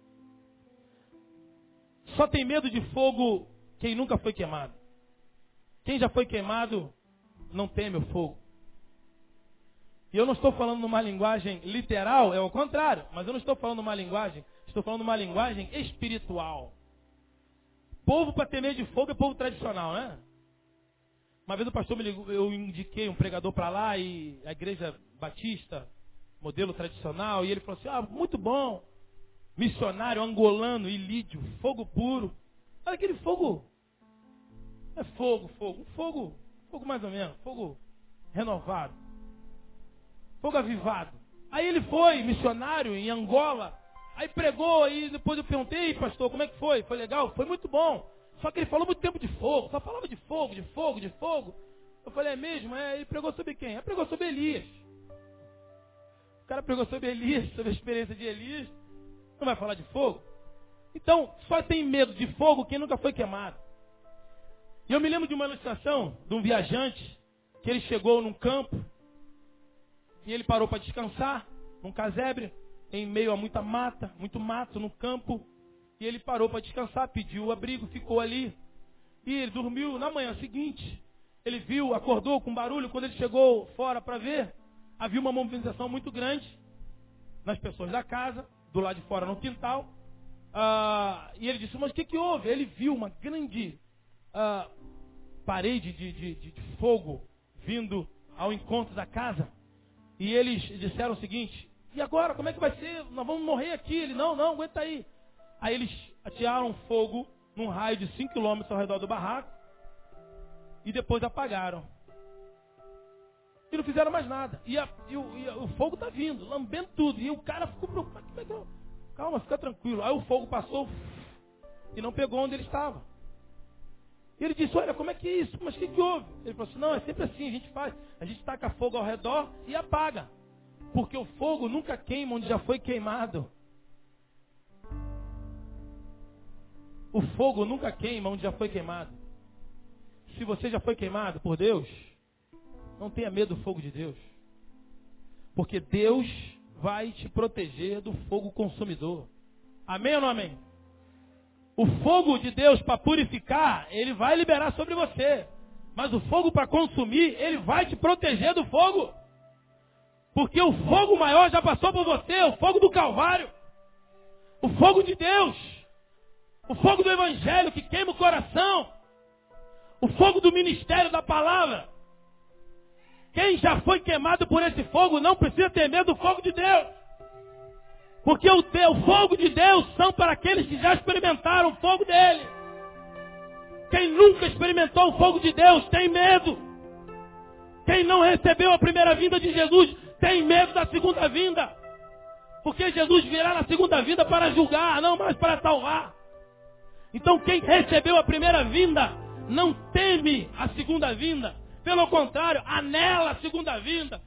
Só tem medo de fogo quem nunca foi queimado. Quem já foi queimado, não teme o fogo. E eu não estou falando numa linguagem literal, é o contrário. Mas eu não estou falando numa linguagem, estou falando numa linguagem espiritual. Povo para temer de fogo é povo tradicional, né? Uma vez o pastor me ligou, eu indiquei um pregador para lá, e a igreja batista, modelo tradicional, e ele falou assim, muito bom, missionário angolano, ilídio, fogo puro. Olha aquele fogo, é fogo mais ou menos, fogo renovado, fogo avivado. Aí ele foi missionário em Angola, aí pregou, aí depois eu perguntei, pastor, como é que foi? Foi legal? Foi muito bom. Só que ele falou muito tempo de fogo, só falava de fogo. Eu falei, é mesmo? Ele pregou sobre quem? Ele pregou sobre Elias. O cara pregou sobre Elias, sobre a experiência de Elias. Não vai falar de fogo? Então, só tem medo de fogo quem nunca foi queimado. E eu me lembro de uma ilustração de um viajante, que ele chegou num campo, e ele parou para descansar, num casebre, em meio a muita mata, muito mato no campo. E ele parou para descansar, pediu o abrigo, ficou ali. E ele dormiu. Na manhã seguinte, ele viu, acordou com barulho. Quando ele chegou fora para ver, havia uma movimentação muito grande nas pessoas da casa, do lado de fora no quintal. E ele disse, mas o que houve? Ele viu uma grande parede de fogo vindo ao encontro da casa. E eles disseram o seguinte, e agora, como é que vai ser? Nós vamos morrer aqui. Ele, não, aguenta aí. Aí eles atearam fogo num raio de 5 km ao redor do barraco e depois apagaram. E não fizeram mais nada. E o fogo está vindo, lambendo tudo. E o cara ficou preocupado. Calma, fica tranquilo. Aí o fogo passou e não pegou onde ele estava. E ele disse, olha, como é que é isso? Mas o que houve? Ele falou assim, não, é sempre assim, a gente faz. A gente taca fogo ao redor e apaga. Porque o fogo nunca queima onde já foi queimado. O fogo nunca queima onde já foi queimado. Se você já foi queimado por Deus, não tenha medo do fogo de Deus. Porque Deus vai te proteger do fogo consumidor. Amém ou não amém? O fogo de Deus para purificar, ele vai liberar sobre você. Mas o fogo para consumir, ele vai te proteger do fogo. Porque o fogo maior já passou por você, o fogo do Calvário. O fogo de Deus. O fogo do Evangelho que queima o coração. O fogo do ministério da palavra. Quem já foi queimado por esse fogo não precisa ter medo do fogo de Deus. Porque o fogo de Deus são para aqueles que já experimentaram o fogo dele. Quem nunca experimentou o fogo de Deus tem medo. Quem não recebeu a primeira vinda de Jesus tem medo da segunda vinda. Porque Jesus virá na segunda vinda para julgar, não mais para salvar. Então quem recebeu a primeira vinda não teme a segunda vinda. Pelo contrário, anela a segunda vinda.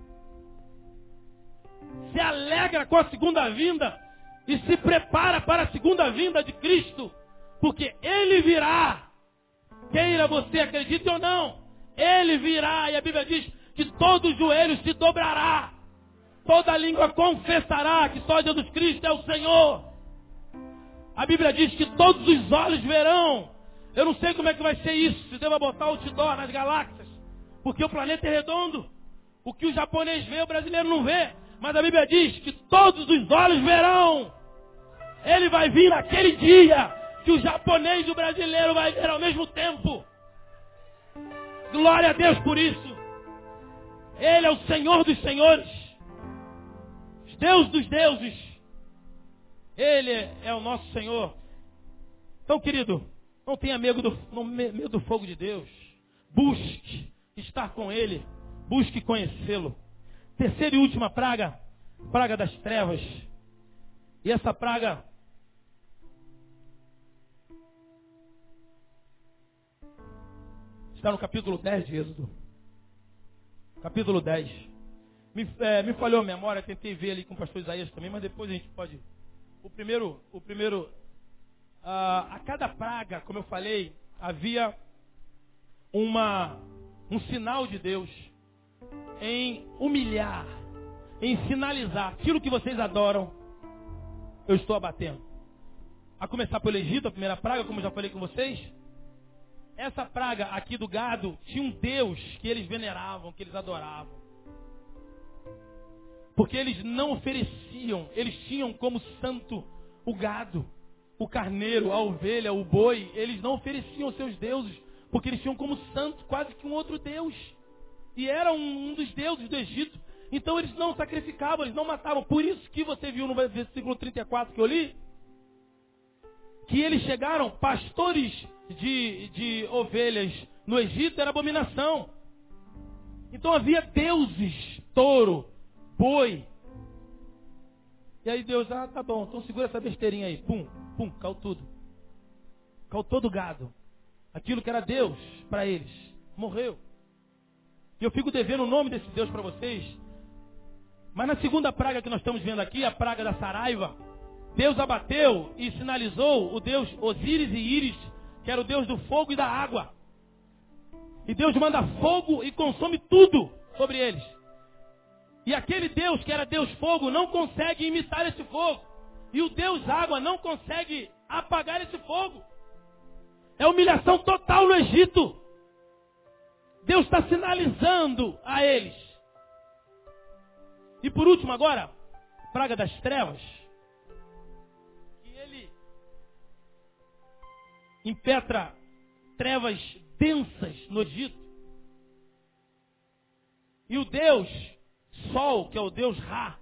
Se alegra com a segunda vinda e se prepara para a segunda vinda de Cristo. Porque Ele virá. Queira você acredite ou não. Ele virá. E a Bíblia diz que todo joelho se dobrará. Toda língua confessará que só Jesus Cristo é o Senhor. A Bíblia diz que todos os olhos verão. Eu não sei como é que vai ser isso. Se deva botar outdoor nas galáxias. Porque o planeta é redondo. O que o japonês vê, o brasileiro não vê. Mas a Bíblia diz que todos os olhos verão. Ele vai vir naquele dia que o japonês e o brasileiro vai ver ao mesmo tempo. Glória a Deus por isso. Ele é o Senhor dos senhores. Deus dos deuses. Ele é o nosso Senhor. Então, querido, não tenha medo do fogo de Deus. Busque estar com Ele. Busque conhecê-lo. Terceira e última praga. Praga das trevas. E essa praga está no capítulo 10 de Êxodo. Capítulo 10. Me falhou a memória, tentei ver ali com o pastor Isaías também, mas depois a gente pode... A cada praga, como eu falei, havia um sinal de Deus em humilhar, em sinalizar aquilo que vocês adoram, eu estou abatendo. A começar pelo Egito, a primeira praga, como eu já falei com vocês, essa praga aqui do gado tinha um Deus que eles veneravam, que eles adoravam. Porque eles não ofereciam, eles tinham como santo o gado, o carneiro, a ovelha, o boi. Eles não ofereciam aos seus deuses, porque eles tinham como santo quase que um outro Deus. E era um dos deuses do Egito. Então eles não sacrificavam, eles não matavam. Por isso que você viu no versículo 34 que eu li, que eles chegaram, pastores de ovelhas no Egito era abominação. Então havia deuses, touro, boi. E aí Deus, tá bom, então segura essa besteirinha aí. Pum, pum, caiu tudo. Caiu todo o gado. Aquilo que era Deus para eles. Morreu. E eu fico devendo o nome desse Deus para vocês. Mas na segunda praga que nós estamos vendo aqui, a praga da saraiva, Deus abateu e sinalizou o Deus Osíris e Íris, que era o Deus do fogo e da água. E Deus manda fogo e consome tudo sobre eles. E aquele Deus que era Deus fogo não consegue imitar esse fogo. E o Deus água não consegue apagar esse fogo. É humilhação total no Egito. Deus está sinalizando a eles. E por último agora, praga das trevas. Que ele impetra trevas densas no Egito. E o Deus Sol, que é o Deus Ra,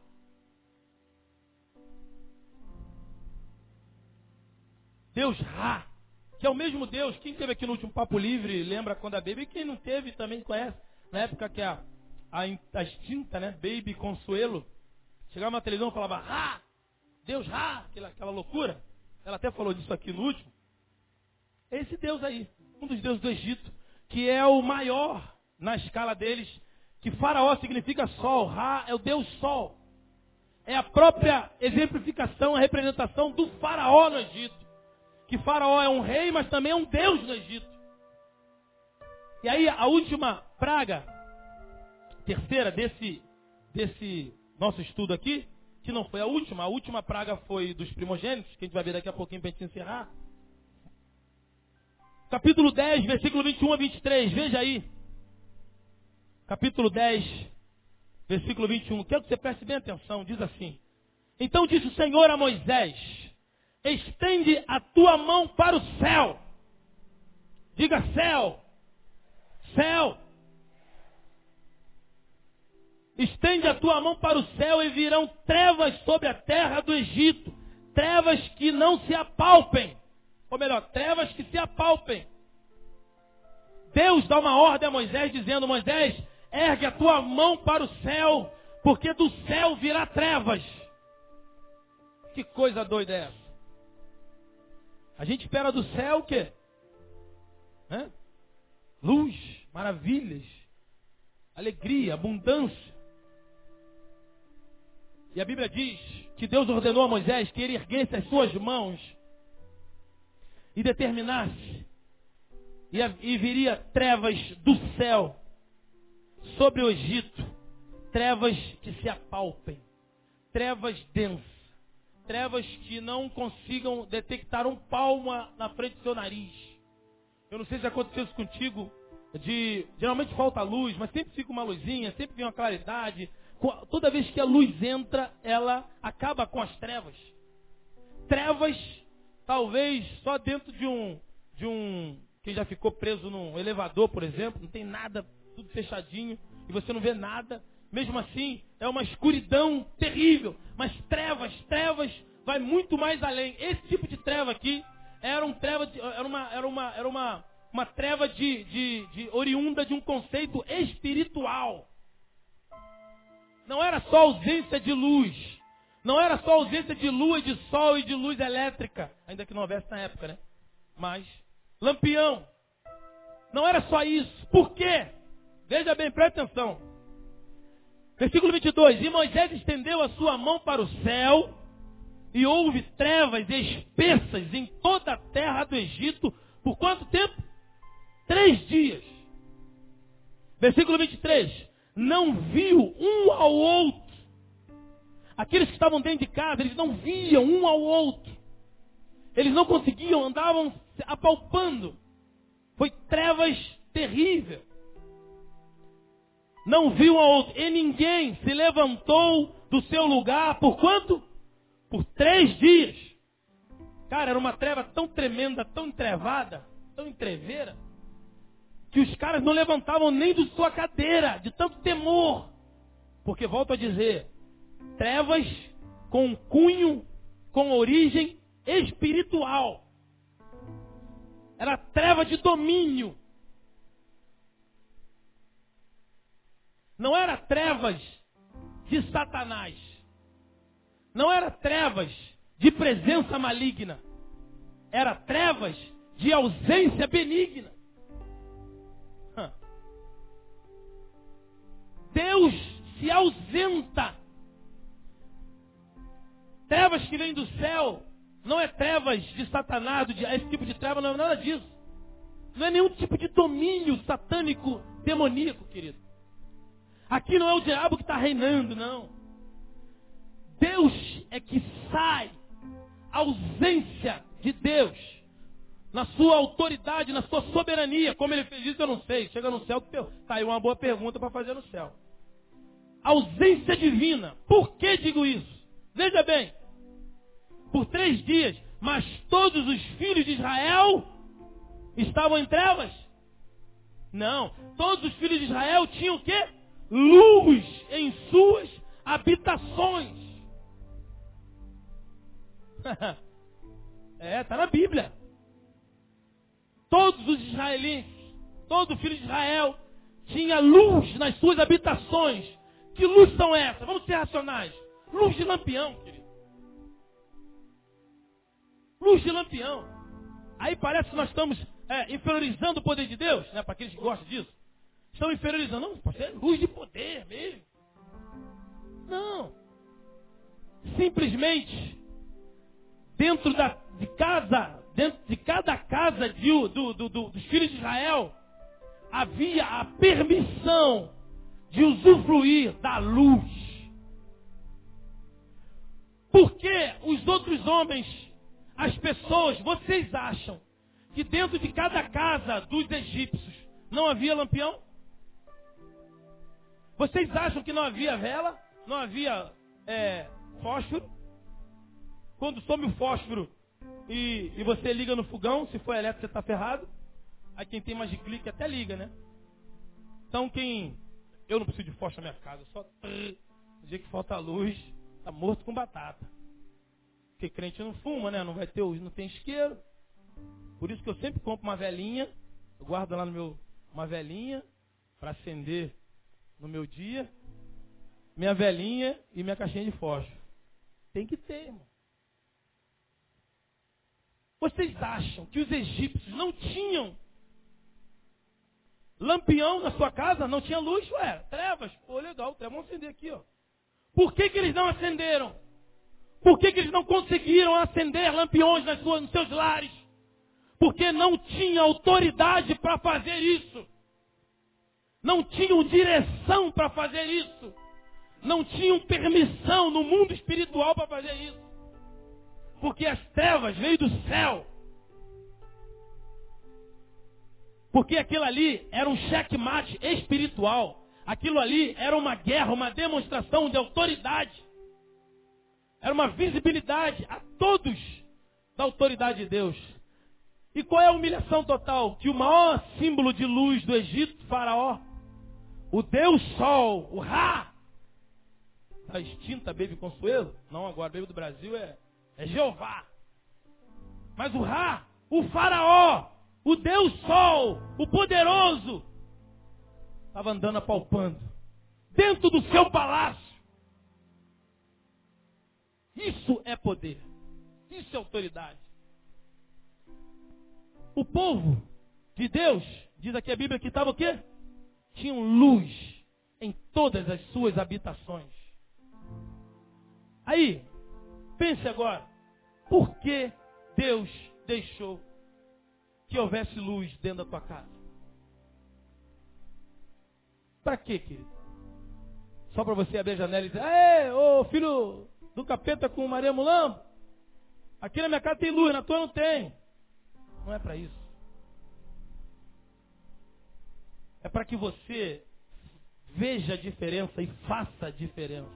Deus Ra, que é o mesmo Deus. Quem esteve aqui no último Papo Livre lembra quando a Baby, e quem não teve também conhece, na época que a extinta, né, Baby Consuelo chegava na televisão e falava Ra, Deus Ra, aquela loucura. Ela até falou disso aqui no último. Esse Deus aí, um dos deuses do Egito, que é o maior na escala deles, que Faraó significa sol, Ra é o Deus Sol. É a própria exemplificação, a representação do Faraó no Egito. Que Faraó é um rei, mas também é um Deus no Egito. E aí a última praga, terceira desse nosso estudo aqui, que não foi a última praga foi dos primogênitos, que a gente vai ver daqui a pouquinho para a gente encerrar. Capítulo 10, versículo 21 a 23. Veja aí. Capítulo 10, versículo 21. Quero que você preste bem atenção. Diz assim. Então disse o Senhor a Moisés: estende a tua mão para o céu. Diga céu. Céu. Estende a tua mão para o céu e virão trevas sobre a terra do Egito. Trevas que não se apalpem. Ou melhor, trevas que se apalpem. Deus dá uma ordem a Moisés dizendo: Moisés, ergue a tua mão para o céu, porque do céu virá trevas. Que coisa doida é essa? A gente espera do céu o quê? Luz, maravilhas, alegria, abundância. E a Bíblia diz que Deus ordenou a Moisés que ele erguesse as suas mãos e determinasse, e viria trevas do céu sobre o Egito, trevas que se apalpem, trevas densas, trevas que não consigam detectar um palmo na frente do seu nariz. Eu não sei se aconteceu isso contigo, geralmente falta luz, mas sempre fica uma luzinha, sempre vem uma claridade. Toda vez que a luz entra, ela acaba com as trevas. Trevas, talvez só dentro de um quem já ficou preso num elevador, por exemplo, não tem nada, tudo fechadinho, e você não vê nada. Mesmo assim, é uma escuridão terrível. Mas trevas, vai muito mais além. Esse tipo de treva aqui era uma treva de oriunda de um conceito espiritual. Não era só ausência de luz. Não era só ausência de lua e de sol e de luz elétrica. Ainda que não houvesse na época, né? Mas, lampião. Não era só isso. Por quê? Veja bem, presta atenção. Versículo 22. E Moisés estendeu a sua mão para o céu, e houve trevas espessas em toda a terra do Egito. Por quanto tempo? 3 dias. Versículo 23. Não viu um ao outro. Aqueles que estavam dentro de casa, eles não viam um ao outro. Eles não conseguiam, andavam apalpando. Foi trevas terríveis. Não viu um ao outro. E ninguém se levantou do seu lugar. Por quanto? Por 3 dias. Cara, era uma treva tão tremenda, tão entrevada, tão entreveira, que os caras não levantavam nem de sua cadeira, de tanto temor. Porque, volto a dizer, trevas com cunho, com origem espiritual. Era treva de domínio. Não era trevas de Satanás. Não era trevas de presença maligna. Era trevas de ausência benigna. Deus se ausenta. Trevas que vêm do céu não é trevas de Satanás, esse tipo de treva não é nada disso. Não é nenhum tipo de domínio satânico, demoníaco, querido. Aqui não é o diabo que está reinando, não. Deus é que sai. A ausência de Deus na sua autoridade, na sua soberania. Como ele fez isso, eu não sei. Chega no céu, tá aí uma boa pergunta para fazer no céu. Ausência divina. Por que digo isso? Veja bem. Por 3 dias, mas todos os filhos de Israel estavam em trevas? Não. Todos os filhos de Israel tinham o quê? Luz em suas habitações. Está na Bíblia. Todos os israelenses, todo filho de Israel tinha luz nas suas habitações. Que luz são essas? Vamos ser racionais. Luz de lampião, querido. Luz de lampião. Aí parece que nós estamos inferiorizando o poder de Deus, né? Para aqueles que gostam disso. Estão inferiorizando. Não, pode ser luz de poder mesmo. Não. Simplesmente, dentro de cada casa dos filhos de Israel, havia a permissão de usufruir da luz. Porque os outros homens, as pessoas, vocês acham que dentro de cada casa dos egípcios não havia lampião? Vocês acham que não havia vela? Não havia fósforo? Quando some o fósforo e você liga no fogão, se for elétrico você está ferrado. Aí quem tem mais de clique até liga, né? Então eu não preciso de fósforo na minha casa, só no dia que falta luz, tá morto com batata. Porque crente não fuma, né? Não tem isqueiro. Por isso que eu sempre compro uma velinha, eu guardo lá uma velinha para acender no meu dia, minha velinha e minha caixinha de fósforo. Tem que ter, irmão. Vocês acham que os egípcios não tinham lampião na sua casa? Não tinha luz? Ué, trevas. Pô, legal, trevas. Vamos acender aqui, ó. Por que eles não acenderam? Por que eles não conseguiram acender lampiões nos seus lares? Porque não tinha autoridade para fazer isso. Não tinham direção para fazer isso. Não tinham permissão no mundo espiritual para fazer isso. Porque as trevas veio do céu. Porque aquilo ali era um checkmate espiritual. Aquilo ali era uma guerra, uma demonstração de autoridade. Era uma visibilidade a todos da autoridade de Deus. E qual é a humilhação total? Que o maior símbolo de luz do Egito, Faraó, o Deus Sol, o Ra, a extinta Baby Consuelo, não agora, Baby do Brasil é Jeová. Mas o Ra, o Faraó, o Deus Sol, o poderoso, estava andando apalpando dentro do seu palácio. Isso é poder. Isso é autoridade. O povo de Deus, diz aqui a Bíblia que estava o quê? Tinham luz em todas as suas habitações. Aí, pense agora, por que Deus deixou que houvesse luz dentro da tua casa? Para quê, querido? Só para você abrir a janela e dizer, ô filho do capeta com Maria Mulambo, aqui na minha casa tem luz, na tua não tem. Não é para isso. É para que você veja a diferença e faça a diferença.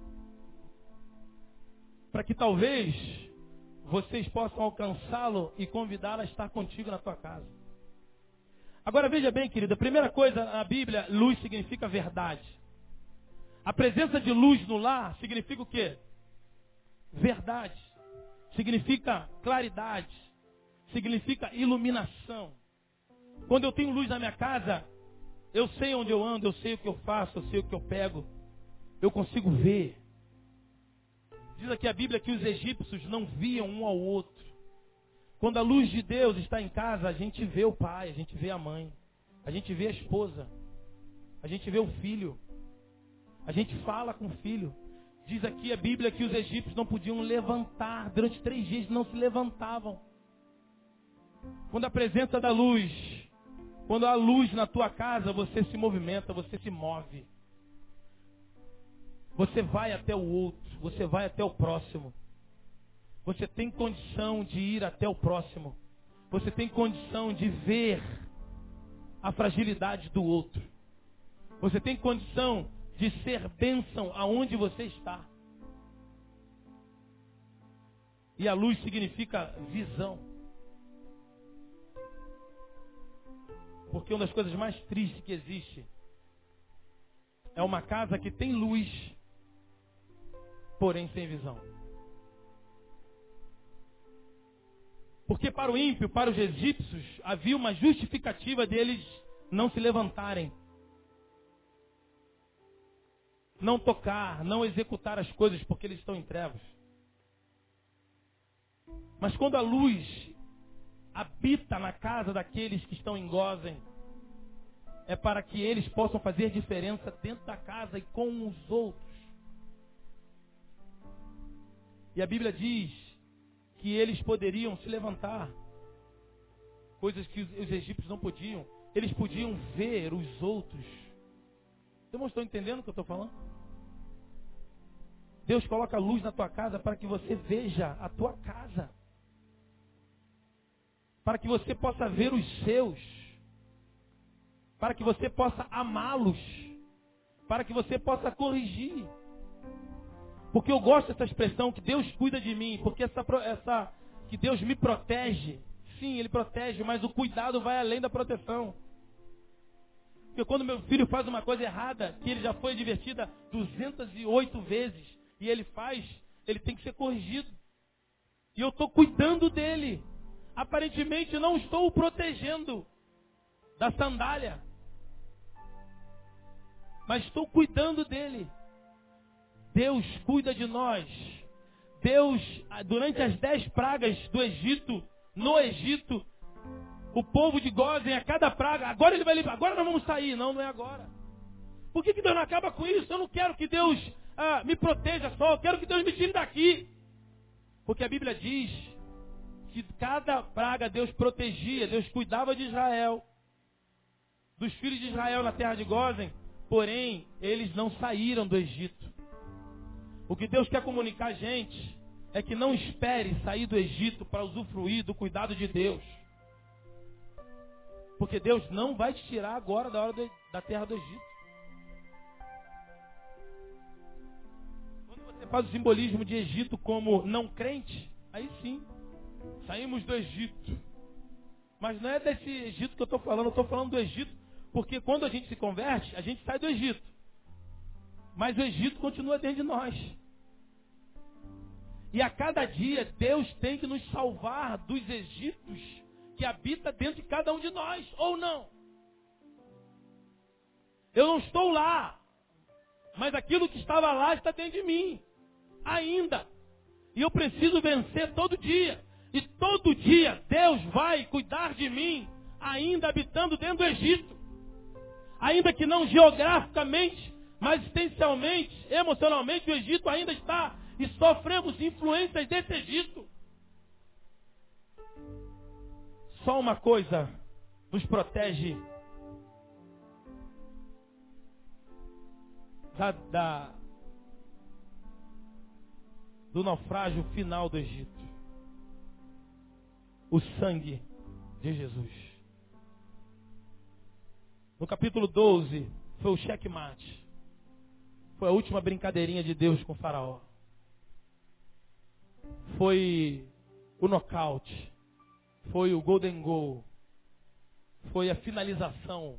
Para que talvez vocês possam alcançá-lo e convidá-lo a estar contigo na tua casa. Agora veja bem, querido, a primeira coisa na Bíblia, luz significa verdade. A presença de luz no lar significa o quê? Verdade. Significa claridade. Significa iluminação. Quando eu tenho luz na minha casa, eu sei onde eu ando, eu sei o que eu faço, eu sei o que eu pego. Eu consigo ver. Diz aqui a Bíblia que os egípcios não viam um ao outro. Quando a luz de Deus está em casa, a gente vê o pai, a gente vê a mãe, a gente vê a esposa, a gente vê o filho, a gente fala com o filho. Diz aqui a Bíblia que os egípcios não podiam levantar, durante 3 dias não se levantavam. Quando a presença da luz, quando há luz na tua casa, você se movimenta, você se move. Você vai até o outro, você vai até o próximo. Você tem condição de ir até o próximo. Você tem condição de ver a fragilidade do outro. Você tem condição de ser bênção aonde você está. E a luz significa visão. Porque uma das coisas mais tristes que existe é uma casa que tem luz, porém sem visão. Porque para o ímpio, para os egípcios, havia uma justificativa deles não se levantarem, não tocar, não executar as coisas porque eles estão em trevas. Mas quando a luz habita na casa daqueles que estão em Gósen, é para que eles possam fazer diferença dentro da casa e com os outros. E a Bíblia diz que eles poderiam se levantar, coisas que os egípcios não podiam. Eles podiam ver os outros. Vocês não estão entendendo o que eu estou falando? Deus coloca luz na tua casa para que você veja a tua casa. para que você possa ver os seus, para que você possa amá-los, para que você possa corrigir. Porque eu gosto dessa expressão, que Deus cuida de mim, porque que Deus me protege. Sim, Ele protege, mas o cuidado vai além da proteção. Porque quando meu filho faz uma coisa errada, que ele já foi advertido 208 vezes, e ele faz, ele tem que ser corrigido. E eu estou cuidando dele. Aparentemente não estou o protegendo da sandália, mas estou cuidando dele. Deus cuida de nós. Deus, durante as 10 pragas do Egito, no Egito, o povo de Gósen, a cada praga, agora ele vai livrar, agora nós vamos sair. Não, não é agora. Por que Deus não acaba com isso? Eu não quero que Deus me proteja só, eu quero que Deus me tire daqui. Porque a Bíblia diz que cada praga Deus protegia, Deus cuidava de Israel, dos filhos de Israel na terra de Gósen, porém, eles não saíram do Egito. O que Deus quer comunicar a gente é que não espere sair do Egito para usufruir do cuidado de Deus. Porque Deus não vai te tirar agora da terra do Egito. Quando você faz o simbolismo de Egito como não crente, aí sim, saímos do Egito. Mas não é desse Egito que eu estou falando do Egito, porque quando a gente se converte, a gente sai do Egito. Mas o Egito continua dentro de nós. E a cada dia, Deus tem que nos salvar dos Egitos que habita dentro de cada um de nós, ou não. Eu não estou lá, mas aquilo que estava lá está dentro de mim, ainda. E eu preciso vencer todo dia. E todo dia Deus vai cuidar de mim, ainda habitando dentro do Egito. Ainda que não geograficamente, mas existencialmente, emocionalmente, o Egito ainda está. E sofremos influências desse Egito. Só uma coisa nos protege do naufrágio final do Egito. O sangue de Jesus. No capítulo 12, foi o checkmate. Foi a última brincadeirinha de Deus com o faraó. Foi o nocaute. Foi o golden goal. Foi a finalização.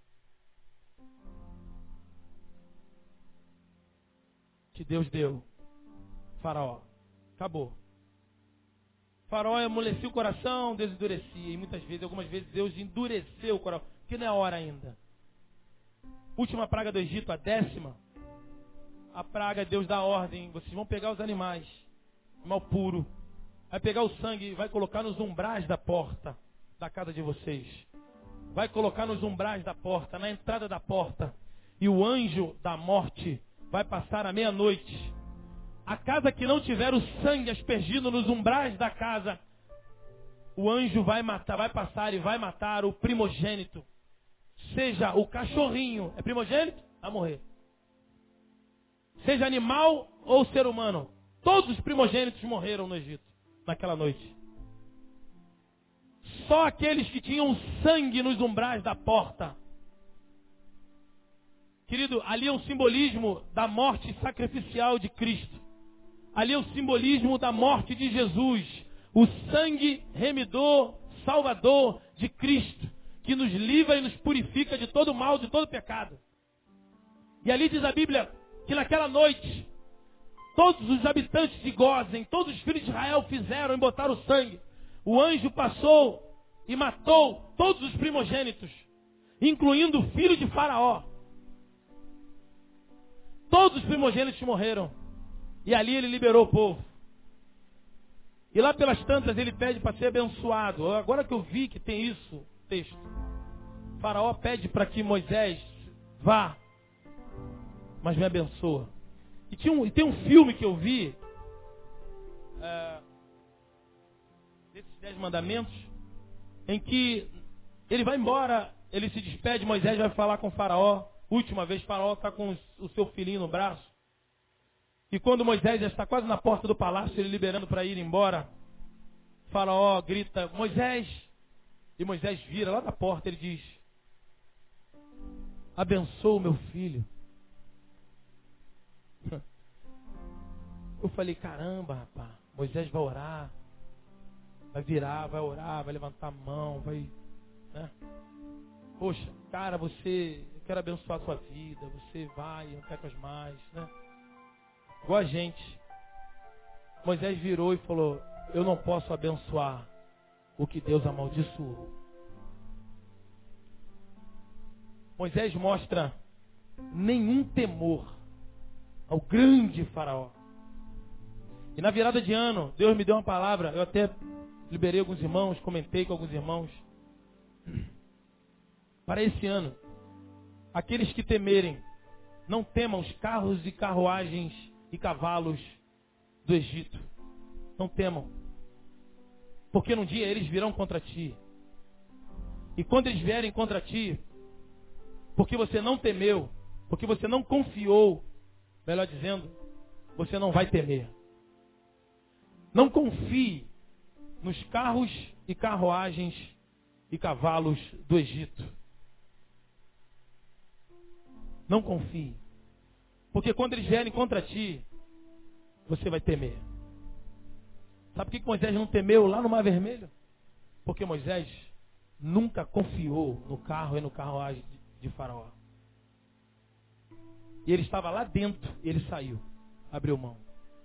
Que Deus deu. Faraó. Acabou. Faraó amolecia o coração, Deus endurecia. E muitas vezes, algumas vezes, Deus endureceu o coração. Porque não é hora ainda. Última praga do Egito, a 10ª. A praga, Deus dá ordem. Vocês vão pegar os animais. Mal puro. Vai pegar o sangue e vai colocar nos umbrais da porta da casa de vocês. Vai colocar nos umbrais da porta, na entrada da porta. E o anjo da morte vai passar à meia-noite. A casa que não tiver o sangue aspergido nos umbrais da casa, o anjo vai matar, vai passar e vai matar o primogênito. Seja o cachorrinho, é primogênito? Vai morrer. Seja animal ou ser humano. Todos os primogênitos morreram no Egito. Naquela noite. Só aqueles que tinham sangue nos umbrais da porta. Querido, ali é um simbolismo da morte sacrificial de Cristo. Ali é o simbolismo da morte de Jesus. O sangue remidor, salvador de Cristo, que nos livra e nos purifica de todo mal, de todo pecado. E ali diz a Bíblia que naquela noite, todos os habitantes de Gósen, todos os filhos de Israel fizeram e botaram o sangue. O anjo passou e matou todos os primogênitos, incluindo o filho de Faraó. Todos os primogênitos morreram. E ali ele liberou o povo. E lá pelas tantas ele pede para ser abençoado. Agora que eu vi que tem isso, texto. Faraó pede para que Moisés vá, mas me abençoa. E tem um filme que eu vi, desses 10 mandamentos, em que ele vai embora, ele se despede, Moisés vai falar com o Faraó. Última vez, Faraó está com o seu filhinho no braço. E quando Moisés já está quase na porta do palácio, ele liberando para ir embora, Faraó grita, Moisés, E Moisés vira lá da porta, ele diz: abençoa o meu filho. Eu falei, caramba, rapaz, Moisés vai orar, vai virar, vai orar, vai levantar a mão, vai, né? Poxa, cara, eu quero abençoar a sua vida, você vai, não pecas mais, né? Igual a gente. Moisés virou e falou: eu não posso abençoar o que Deus amaldiçoou. Moisés mostra nenhum temor ao grande faraó. E na virada de ano, Deus me deu uma palavra, eu até liberei alguns irmãos, comentei com alguns irmãos. Para esse ano, aqueles que temerem, não temam os carros e carruagens e cavalos do Egito. Não temam. Porque num dia eles virão contra ti. E quando eles vierem contra ti, porque você não temeu, porque você não confiou, melhor dizendo, você não vai temer. Não confie nos carros e carruagens e cavalos do Egito. Não confie. Porque quando eles vierem contra ti, você vai temer. Sabe por que Moisés não temeu lá no Mar Vermelho? Porque Moisés nunca confiou no carro e no carruagem de Faraó. E ele estava lá dentro, e ele saiu, abriu mão.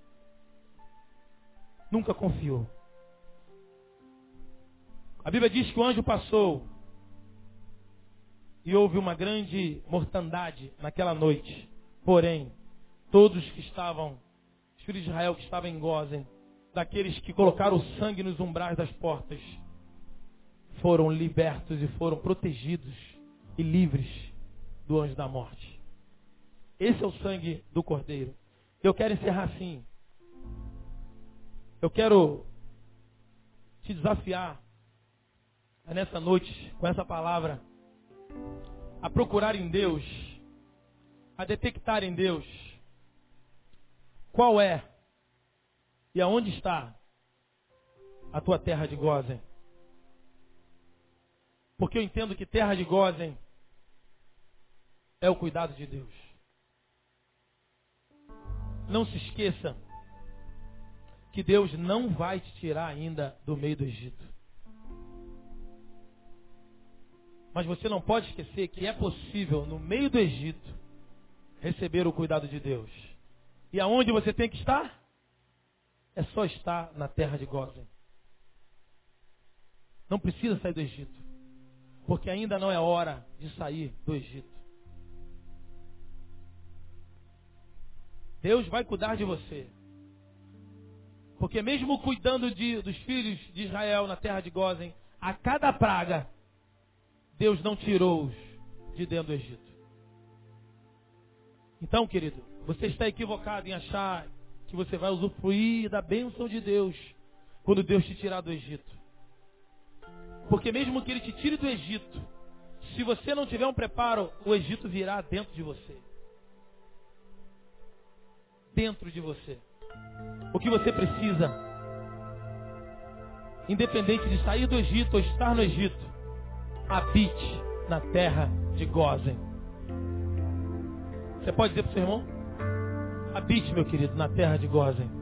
Nunca confiou. A Bíblia diz que o anjo passou e houve uma grande mortandade naquela noite. Porém, todos que estavam, os filhos de Israel que estavam em Gósen, daqueles que colocaram o sangue nos umbrais das portas, foram libertos e foram protegidos e livres do anjo da morte. Esse é o sangue do Cordeiro. Eu quero encerrar assim. Eu quero te desafiar nessa noite, com essa palavra, a procurar em Deus, a detectar em Deus qual é e aonde está a tua terra de Gósen. Porque eu entendo que terra de Gósen é o cuidado de Deus. Não se esqueça que Deus não vai te tirar ainda do meio do Egito. Mas você não pode esquecer que é possível, no meio do Egito, receber o cuidado de Deus. E aonde você tem que estar? É só estar na terra de Gósen. Não precisa sair do Egito. Porque ainda não é hora de sair do Egito. Deus vai cuidar de você. Porque mesmo cuidando dos filhos de Israel na terra de Gósen, a cada praga, Deus não tirou-os de dentro do Egito. Então, querido, você está equivocado em achar que você vai usufruir da bênção de Deus quando Deus te tirar do Egito. Porque mesmo que Ele te tire do Egito, se você não tiver um preparo, o Egito virá dentro de você. Dentro de você. O que você precisa, independente de sair do Egito ou estar no Egito, habite na terra de Gósen. Você pode dizer para o seu irmão? Habite, meu querido, na terra de Gósen.